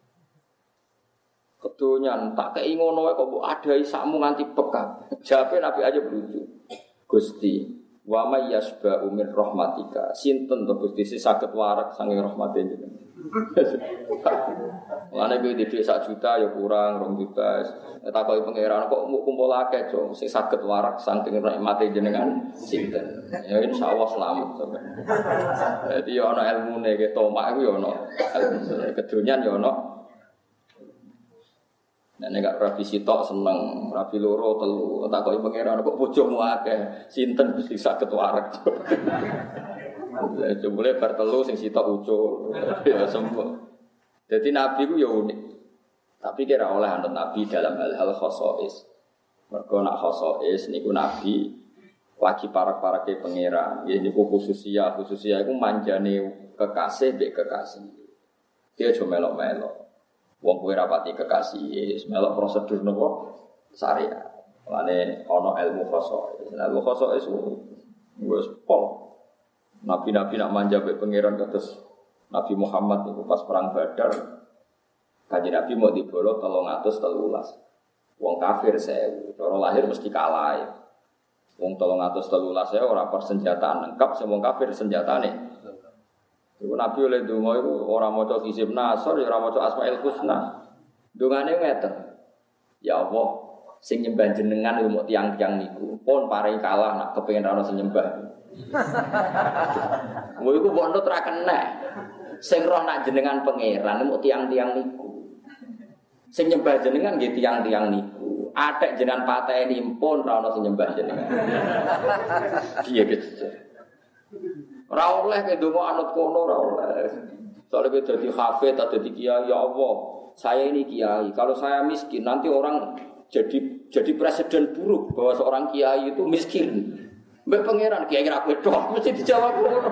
Kedonyan tak kei ngono wae kok mbok adahi sakmu nganti pekak. Jawabe Nabi Ayub lucu. Gusti, wa may yasba'u min rahmatika. Sinten to Gusti sing saged warak saking rahmate jenengan. Lane kowe dhewe 1 juta ya kurang 2 juta. Takoki pangeran kok kumpul akeh, Cong, sing saged warak saking rahmate jenengan sinten. Ya insyaallah selamat sampeyan. Dadi ya ana ilmune ke tomak iku ya ana. Kedonyan ya ana. Nek nek rabi sitok seneng, rabi loro telu, takoki pangeran kok bojomu akeh, sinten Gusti saged warak. Lah jebule bar telu sing sitok ucul, ya sembuh. Dadi nabi ku ya unik. Tapi kira oleh anut nabi dalam hal-hal khosais. Mergo nak khosais niku nabi lagi parak-parake pangeran. Ya niku khususiyah iku manjane kekasih mbek kekasih. Dia aja melok-melok. Wong kowe rapati kekasih, melok prosedur nopo syariat. Lane ana ilmu khosais. Ilmu khosais wis pol. Nabi-nabi nak manja mbek pangeran kados Nabi Muhammad niku pas perang Badar. Kanjeng Nabi mau dibolo 313. Wong kafir 1000, cara lahir mesti kalah. Wong 313 ora persenjataan lengkap, sing wong kafir senjatane. Iku Nabi oleh donga iku ora maca Hizib Nasr, ora maca Asmaul Husna. Dongane ngeten. Ya Allah, sing nyembah jenengan iku mok tiyang-tiyang niku. Pun paring kalah nak kepengin ana sing nyembah. Ngono iku mbok nut ra kena. Sing roh nak jenengan pangeran mok tiyang-tiyang niku. Sing nyembah jenengan nggih tiyang-tiyang niku. Atek jenengan pateni pun ra ana sing nyembah jenengan. Piye gitu. Ora oleh ke donga anut kono ora oleh. Soale kowe dadi hafid atau dadi kiai, ya Allah, saya ini kiai. Kalau saya miskin nanti orang jadi presiden buruk bahwa seorang kiai itu miskin. Mbek pangeran kiai ra kowe tok mesti dijawab ngono.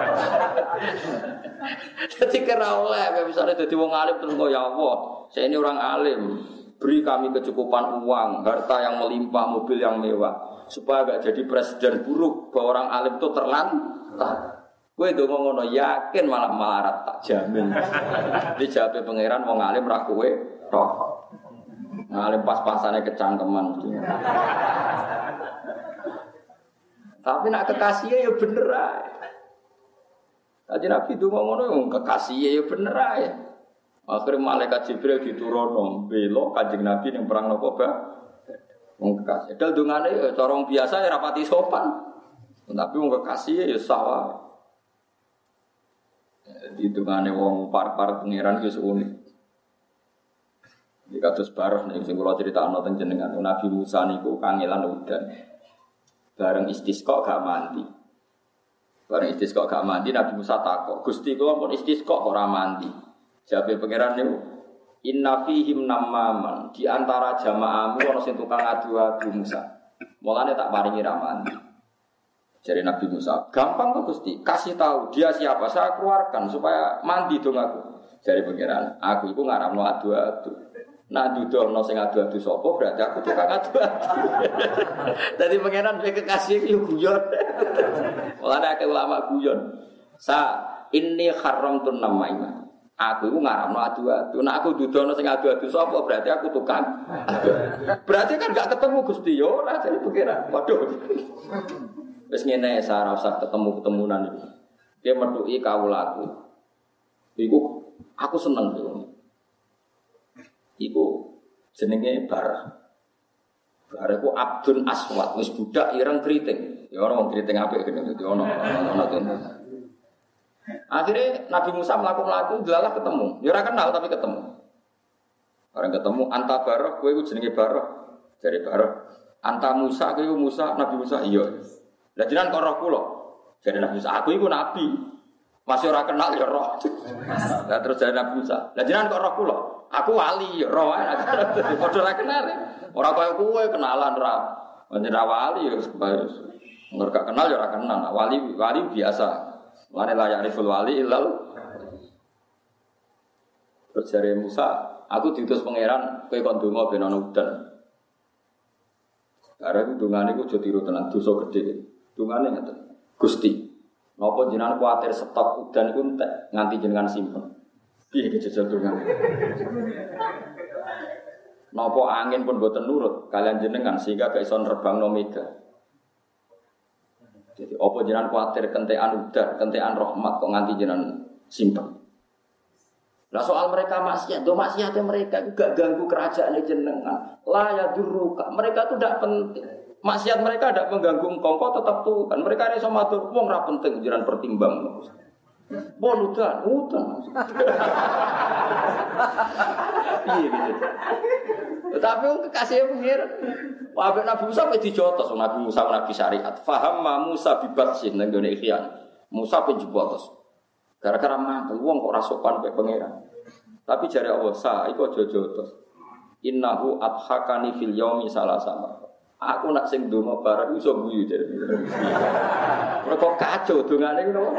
Dadi kira oleh misalnya dadi wong alim terus ya Allah, saya ini orang alim. Beri kami kecukupan uang, harta yang melimpah, mobil yang mewah. Supaya gak jadi presiden buruk bahwa orang alim itu terlantar. Kowe ndonga ngono yakin malah melarat tak jamin. Dijabe pangeran wong alim ra kowe tok. Ngalim pas-pasane kecangkeman. Tapi nak kekasih ya bener ae. Tadi Nabi ndonga ngono kekasih ya bener ae. Akhire malaikat Jibril diturunno bela Kanjeng Nabi ning perang napa ba. Wong kekasih. Dal dungane cara wong biasa ya rapati sopan. Tapi wong kekasih ya salah. Di dungane wong par-par pangeran wis unik. Iki kados bareng nek sing kula critakno teng jenengan Nabi Musa niku kangelan udan. Bareng istisqa gak mandi. Bareng istisqa gak mandi Nabi Musa takok, "Gusti kula pun istisqa kok ora mandi?" Jawabe pangeran niku, "Inna fihim namaman." Di antara jamaahmu ana sing tukang adu-adu Musa. Mulane tak paringi ra mandi. Jadi Nabi Musa, "Gampang kok Gusti, kasih tahu dia siapa, saya keluarkan supaya mandi dong aku." Jadi pangeran, "Aku iku ngaramno adu-adu." Nah dudono sing adu-adu sapa berarti aku tukang adu-adu. Dadi pangeran kowe kekasih iki guyon. Mulane akeh ulama guyon. Inni haramtun namaima. Aku iku ngaramno adu-adu. Nek aku dudono sing adu-adu sapa berarti aku tukang. Berarti kan gak ketemu Gusti yo ora jare pangeran. Waduh. Wis ngene ora usah ketemu-ketemunan iki. Dia metuki kawulaku. Iku aku seneng yo. Iku jenenge Barah. Barah iku Abdun Aswad, wis budak ireng kriting. Ya ora wong kriting apik kene dadi ono tenan. Akhirnya Nabi Musa mlaku-mlaku delalah ketemu. Ya ora kenal tapi ketemu. Bareng ketemu anta Barah, kowe iku jenenge Barah. Jare Barah, anta Musa kowe iku Musa, Nabi Musa iya. Lah jenengan kok roh kula. Jare Nabi Musa, aku iku nabi. Masih ora kenal ya roh. Lah terus jare Nabi Musa, lah jenengan kok roh kula. Aku wali, roh ae. Padha ora kenal. Ora kaya kowe kenalan ra. Menjadi wali ya sebab gak kenal ya ora kenal. Wali biasa. Lane layak riful wali ilal. Terus jare Musa, aku diutus pangeran kowe kon donga ben ana udan. Karena dungane iku aja tiru tenan dosa gedhe. Dungane ngeten. Gusti, napa jenengan kuwatir stok udan iku entek nganti jenengan simpen. Piye kejajal dongan. Napa angin pun boten nurut kalian jenengan sehingga gak iso nerbangno mega. Jadi apa jenengan kuwatir kentekan udan, kentekan rahmat kok nganti jenengan simpen. Lah soal mereka maksiat, do maksiatnya mereka itu gak ganggu kerajaan jenengan. La yadurruka, mereka itu tidak penting. Maksiat mereka tidak mengganggu engkau tetap tuh kan. Mereka iso matur wong ra penting jenengan pertimbang. Bon udan. Iya gitu. Tetapi kekasih pengiran. Wah Nabi Musa wis dijotos, Nabi Musa nabi syariat. Faham Musa bibatsin nang gone ikhyan. Musa penjotos. Gara-gara mantel wong kok ora sopan kaya pengiran. Tapi jare Allah sa iku aja jotos. Innahu adhakani fil yaumi salasama. Aku nak sing donga bareng iso guyu jare. Kok kacau dongane ngono.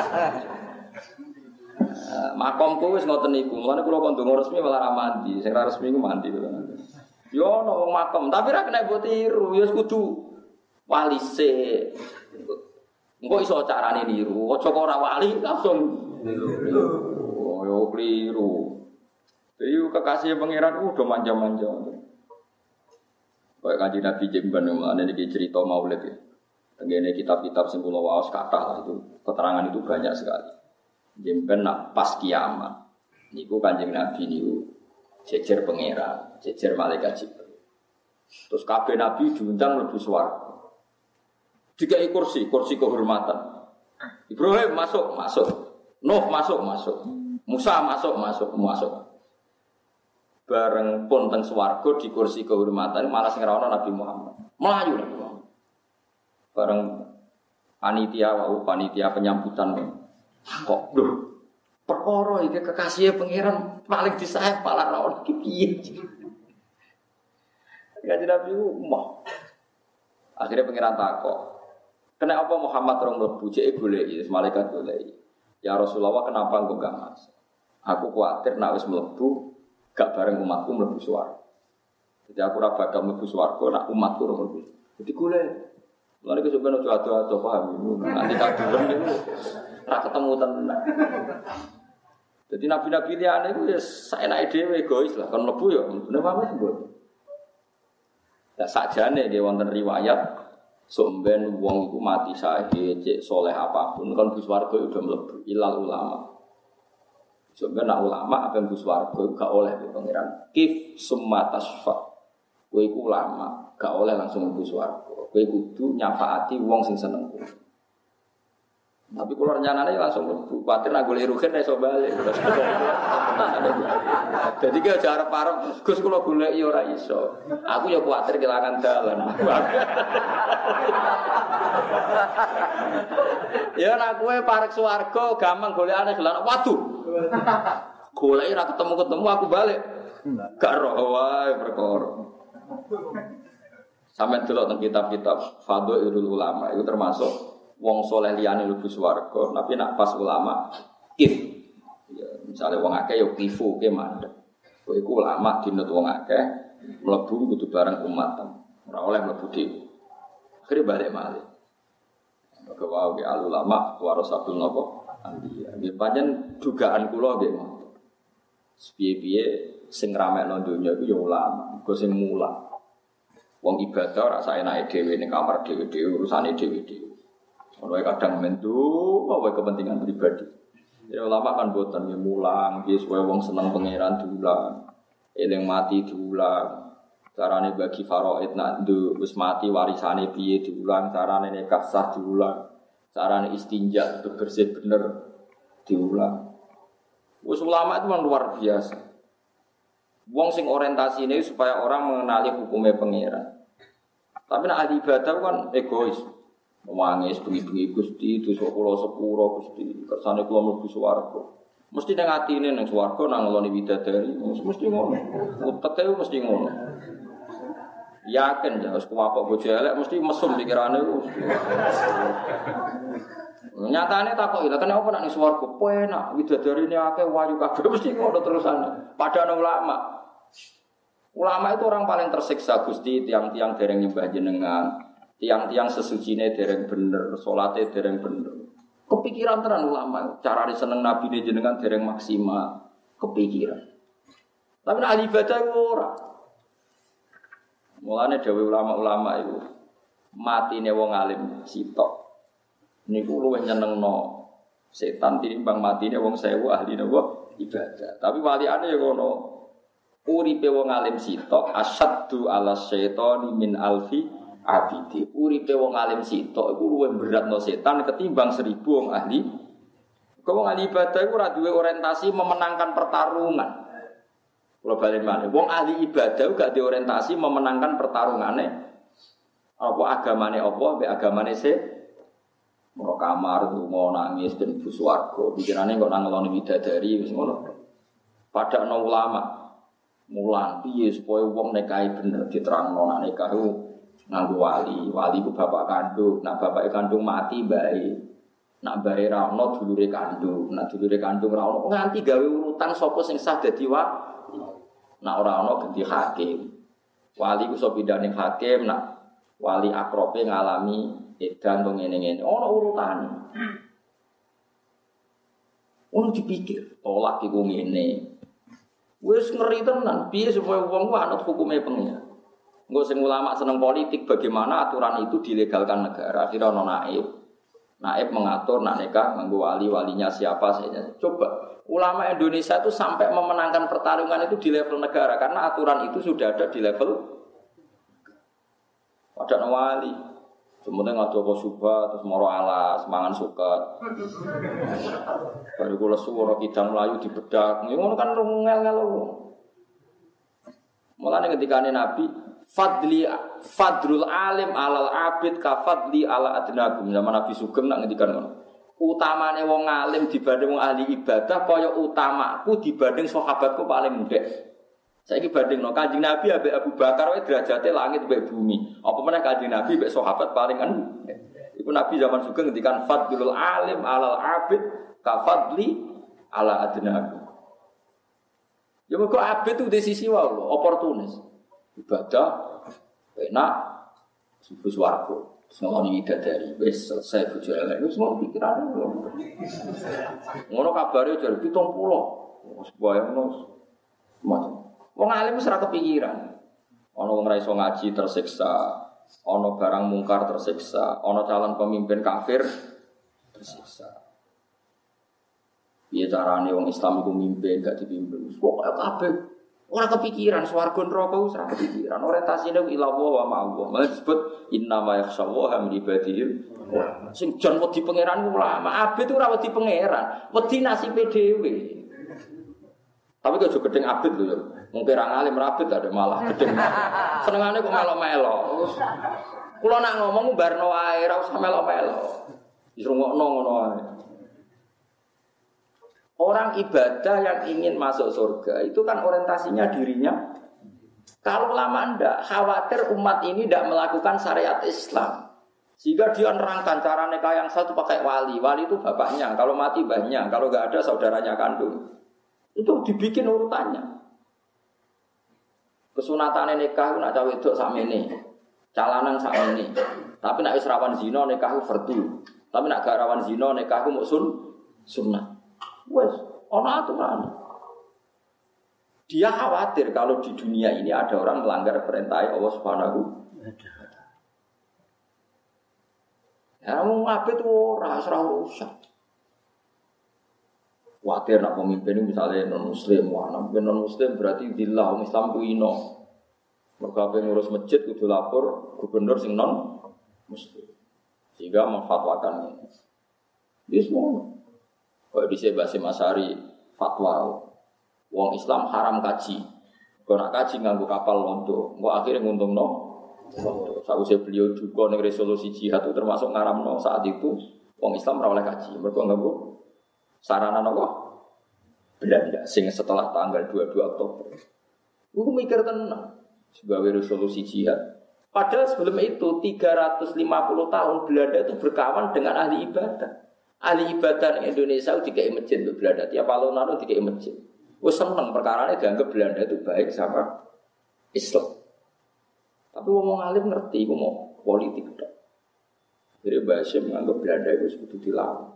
Makomku wis ngoten niku. Mulane kula kon donga resmi malah ra mandi. Sing ra resmi ku mandi. Yo ono wong makom, tapi ra kena mbok tiru, ya kudu wali se. Engko iso carane niru. Aja kok ora wali langsung niru. Oh, yo kliru. Jadi kekasih pangeran udah manja-manja. Kayak kanjeng Nabi Jemban mulane iki cerita Maulid ya. Tengene kitab-kitab sing kula waos kathah itu keterangan itu banyak sekali. Jemben nak pas kiamat niku Kanjeng Nabi niku jejer pangeran, jejer malaikat Jibril. Terus kabeh nabi diundang mlebu swarga. Dikai kursi kehormatan. Ibrahim masuk. Nuh masuk. Musa masuk. Bareng pun teng swarga di kursi kehormatan malah sing ra ono Nabi Muhammad. Melayu Nabi Muhammad. Bareng panitia penyambutan. Kok lho perkara iki kekasih pangeran paling disayang malah ra ono iki piye. Kanjeng Nabi umah. Akhirnya pangeran takok. Kena apa Muhammad rong mlebu cek goleki, malaikat goleki. Ya Rasulullah kenapa engko gak masuk? Aku kuwatir nek wis mlebu gak bareng umatku mlebu swarga. Jadi aku ora bakal mlebu swarga nek umatku ora mlebu. Jadi goleki. Lha iki sampeyan aja ado-ado paham. Nanti kadurem niku ora ketemu tenan. Jadi nabi-nabi liyane iku ya saenake dhewe egois lah, kon mlebu ya bener wae mboten. Lah sakjane nggih wonten riwayat somben wong iku mati syahid, cek saleh apapun kon bus warga udah mlebu ilal ulama. Somben nak ulama apa bus warga gak oleh di pangeran. Kif summa tasfa. Kowe iku ulama. gak oleh langsung mlebu swarga. Kowe kudu nyafaati wong sing seneng kowe. Tapi kalau rencananya langsung mlebu, kuwatir nak golek rugen iso balik. Jadi ki aja arep parek, Gus kula golek ya ora iso. Aku ya kuwatir kelangan dalan. Ya nek kowe parek swarga gampang golekane gelan. Waduh. Golek ora ketemu-ketemu aku balik. Gak roh wae perkara. Sampe delok teng kitab-kitab Fadhailul Ulama itu termasuk wong soleh liyane mlebu swarga, tapi nak pas ulama kif. Ya, misale wong akeh ya kifu ke mandek. Kowe iku ulama dinut wong akeh mlebu kudu bareng umat. Ora oleh mlebu dhewe. Akhire balik malih. Maka wae al ulama warasatul napa? Anbiya. Nggih pancen dugaan kula nggih ngoten. Piye-piye sing ramekno donya iku ya ulama, iku sing mulang. Wong ibadah ora saenake dhewe ning kamar dhewe-dhewe urusane dhewe-dhewe. Ono kadang mentu apa kepentingan pribadi. Ya ulama kan boten ya mulang, ya supaya wong seneng pangeran diulang. Eling mati diulang. Carane bagi faraid nak wis mati warisane piye diulang, carane nikah sah diulang. Carane istinja itu bersih bener diulang. Wis ulama itu memang luar biasa. Wong sing orientasine supaya orang mengenali hukumnya pangeran. Tapi nak ahli ibadah kan egois. Mangis bengi-bengi Gusti, dosa kula sepuro Gusti, kersane kula mlebu swarga. Mesti nang atine nang swarga nang ngeloni widadari, mesti ngono. Uteke mesti ngono. Yakin ya wis kuwapok bojo elek mesti mesum pikirane ku. Nyatane takoki lha kenapa nek ning swarga penak widadarine akeh wayu kabeh mesti ngono terusane. Padahal ulama. Ulama itu orang paling tersiksa Gusti, tiang-tiang dereng nyembah jenengan. Tiang-tiang sesucine dereng bener, salate dereng bener. Kepikiran tenan ulama, cara seneng nabi ne jenengan dereng maksimal, kepikiran. Tapi nek ahli ibadah ora. Mulane dawuh ulama-ulama itu matine wong alim sitok. Niku luwih nyenengno setan tinimbang matine wong sewu ahli napa ibadah. Tapi waliane ya ngono. Uripe wong alim sitok asyaddu ala syaitani min alfi abidi. Uripe wong alim sitok iku luwih beratno setan ketimbang 1000 wong ahli. Kok wong ahli ibadah iku ora duwe orientasi memenangkan pertarungan. Kula bali malih, wong ahli ibadah gak duwe orientasi memenangkan pertarungane. Apa agamane apa mbek agamane mau kamar tuh mau nangis ben ibu swarga. Pikirane kok nang ngeloni widadari wis ngono. Padahal ulama mulang piye supaya wong nikahi bener diterangno nek nikah nganggo wali. Wali ku bapak kandung, nak bapake kandung mati bae. Nak bae ra ono dulure kandung, nak dulure kandung ra ono nganti gawe urutan sapa sing sah dadi wali. Nak ora ono ganti hakim. Wali ku iso pindah ning hakim, nak wali akrobe ngalami edan wong ngene-ngene. Ono urutane. Ono dipikir, tolak iku ngene. Wis ngeri tenan, piye supaya wong ku anut hukume pengen. Engko sing ulama seneng politik, bagaimana aturan itu dilegalkan negara. Akhirnya ono naib. Naib mengatur nak nikah nganggo wali-walinya siapa saja. Coba ulama Indonesia itu sampai memenangkan pertarungan itu di level negara karena aturan itu sudah ada di level ada wali. Semuanya ngadopo subah terus moro alas, mangan suket. Baru kula suara kidang melayu dibedak. Ngono kan ngel-ngel. Mulane ketikane Nabi fadlul alim alal abid ka fadli ala adnagum. Zaman Nabi Sugeng nak ngendikan ngono. Utamane wong alim dibanding wong ahli ibadah kaya utamaku dibanding sahabatku paling ndek. Saiki bandingno Kanjeng Nabi ambek Abu Bakar wae derajate langit mbek bumi. Apa meneh Kanjeng Nabi mbek sahabat paling kan. Iku Nabi zaman Sugeng ngendikan fadlul alim alal abid ka fadli ala adnagum. Ya kok abid itu di sisi wae lho, oportunis. Ibadah enak subuh swarga. Ngomong dari wis selesai bojo elek wis mau pikirane lho. Ngono kabare jar 70. Wis bayangno macam. Wong alim wis ora kepikiran. Ana wong ra iso ngaji tersiksa, ana barang mungkar tersiksa, ana calon pemimpin kafir tersiksa. Piye carane wong Islam iku mimpin gak dipimpin? Pokoke kabeh Ora kepikiran swarga neraka wis ora kepikiran. Orientasine ila wa ma'allah. Malah disebut innama yakhshallaha min ibadihi. Sing jan wedi pangeran ulama. Abid ora wedi pangeran, wedi nasibe dhewe. Tapi kok gedeng abid lho ya. Mung pirang alim rabit ada malah gedeng. Senengane kok melo-melo. Kula nak ngomong barno wae ora usah melo-melo. Wis rungokno ngono wae. Orang ibadah yang ingin masuk surga itu kan orientasinya dirinya. Kalau lama ndak khawatir umat ini tidak melakukan syariat Islam. Sehingga dia nerangkan cara nikah yang satu pakai wali. Wali itu bapaknya, kalau mati banyak, kalau enggak ada saudaranya kandung. Itu dibikin urutannya. Kesunatan nikah nak cawe wedok sakmene. Calanan sakmene. Tapi nak wis rawan zina nikah fardu. Tapi nak gak rawan zina nikah ku muk sunnah. Wes, ana aturan. Dia khawatir kalau di dunia ini ada orang melanggar perintah Allah Subhanahu wa taala. Ya mau ngapit ora rusak. Khawatir nak pemimpin misalnya non muslim, non muslim berarti dillah Islam ku ino. Mergo ngurus masjid kudu lapor gubernur sing non muslim. Sehingga memfatwakan ini. Wis ngono. Kalau di Basim Asari fatwa, wong Islam haram kaji. Kalau nak kaji nganggo kapal londo, kok akhirnya nguntung no. Sausé beliau juga ning resolusi jihad itu termasuk ngaramno saat itu wong Islam ora oleh kaji. Mergo nganggo sarana napa? Belanda sing setelah tanggal 22 Oktober. Iku mikir tenan sebagai resolusi jihad. Padahal sebelum itu 350 tahun Belanda itu berkawan dengan ahli ibadah. Ahli ibadah di Indonesia dikai masjid untuk Belanda. Tiap alun-alun dikai masjid. Wes seneng perkarane dianggap Belanda itu baik sama Islam. Tapi wong alim ngerti iku mau politik tok. Jadi Basim menganggap Belanda itu kudu dilawan.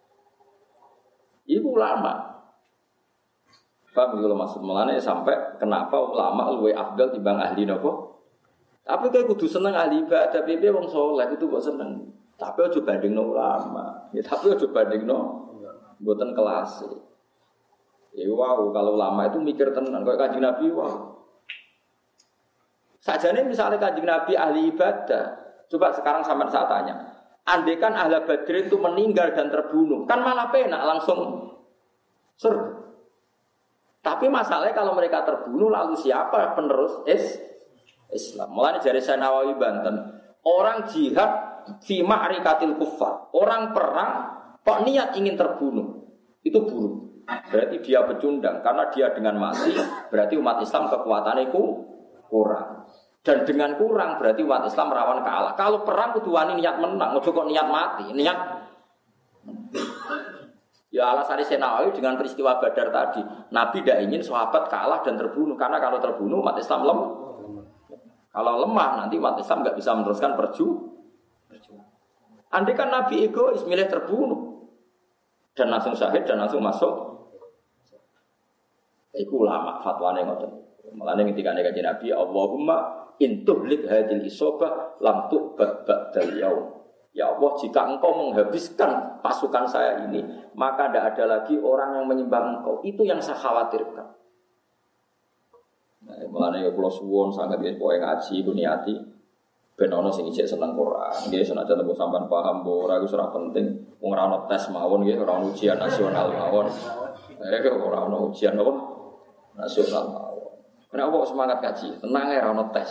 Iku ulama. Paham kalau maksud melane sampai kenapa ulama luwih afdal timbang ahli napa? Tapi kayak kudu seneng ahli ibadah, tapi wong saleh itu kok seneng. Tapi aja bandingno ulama. Ya tapi aja bandingno mboten kelas. Ya wow, kalau ulama itu mikir tenan koyo Kanjeng Nabi wow. Sajane misalnya Kanjeng Nabi ahli ibadah, coba sekarang sampean saya tanya. Andaikan ahli Badr itu meninggal dan terbunuh, kan malah penak langsung surga. Tapi masalahnya kalau mereka terbunuh lalu siapa penerus Islam? Mulane jare Syekh Nawawi Banten, orang jihad fi ma'rikatil kuffar, orang perang kok niat ingin terbunuh, itu buruk. Berarti dia pecundang karena dia dengan mati berarti umat Islam kekuatannya kurang. Dan dengan kurang berarti umat Islam rawan kalah. Kalau perang kudu wani niat menang, ojo kok niat mati, niat. Ya alasan Syekh Nawawi dengan peristiwa Badar tadi, Nabi tidak ingin sahabat kalah dan terbunuh karena kalau terbunuh umat Islam lemah. Kalau lemah nanti umat Islam enggak bisa meneruskan perjuangan. Andai kan Nabi egois milih terbunuh dan langsung syahid dan langsung masuk. Iku ulama fatwane ngoten. Mulane ketika Kanjeng Nabi Allahumma intuhlik hadil isobah lam tu'bad ba'dal yaum. Ya Allah, jika engkau menghabiskan pasukan saya ini, maka tidak ada lagi orang yang menyembah engkau. Itu yang saya khawatirkan. Nah, mulane kula suwun sangat nggih pokoke ngaji ku niati ben ana sing isih seneng Quran. Nggih senajan tembung sampean paham mbok ora iku ora penting. Wong ora ana tes mawon nggih, ora ana ujian nasional mawon. Ora ana ujian apa? Nasional mawon. Kenapa kok semangat kaji? Tenang ya, ora ana tes.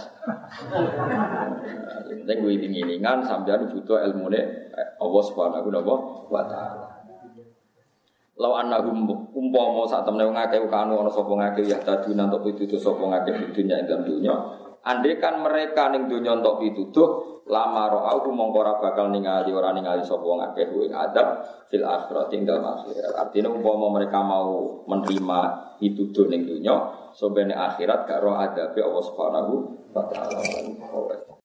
Nek kuwi iling-ilingan sampeyan butuh ilmune Allah Subhanahu wa taala. Law annahum umpama sak temene wong akeh kanu ana sapa ngake ya tadi nantok pituduh sapa ngake di dunya ing dunya. Andaikan mereka ning dunya entuk pituduh, lama ra'au mongko ora bakal ningali sapa wong akeh ing adab fil akhirat ing dalem akhirat. Artinya umpama mereka mau menerima pituduh ning dunya, sobene akhirat gak ro adabe Allah Subhanahu wa taala.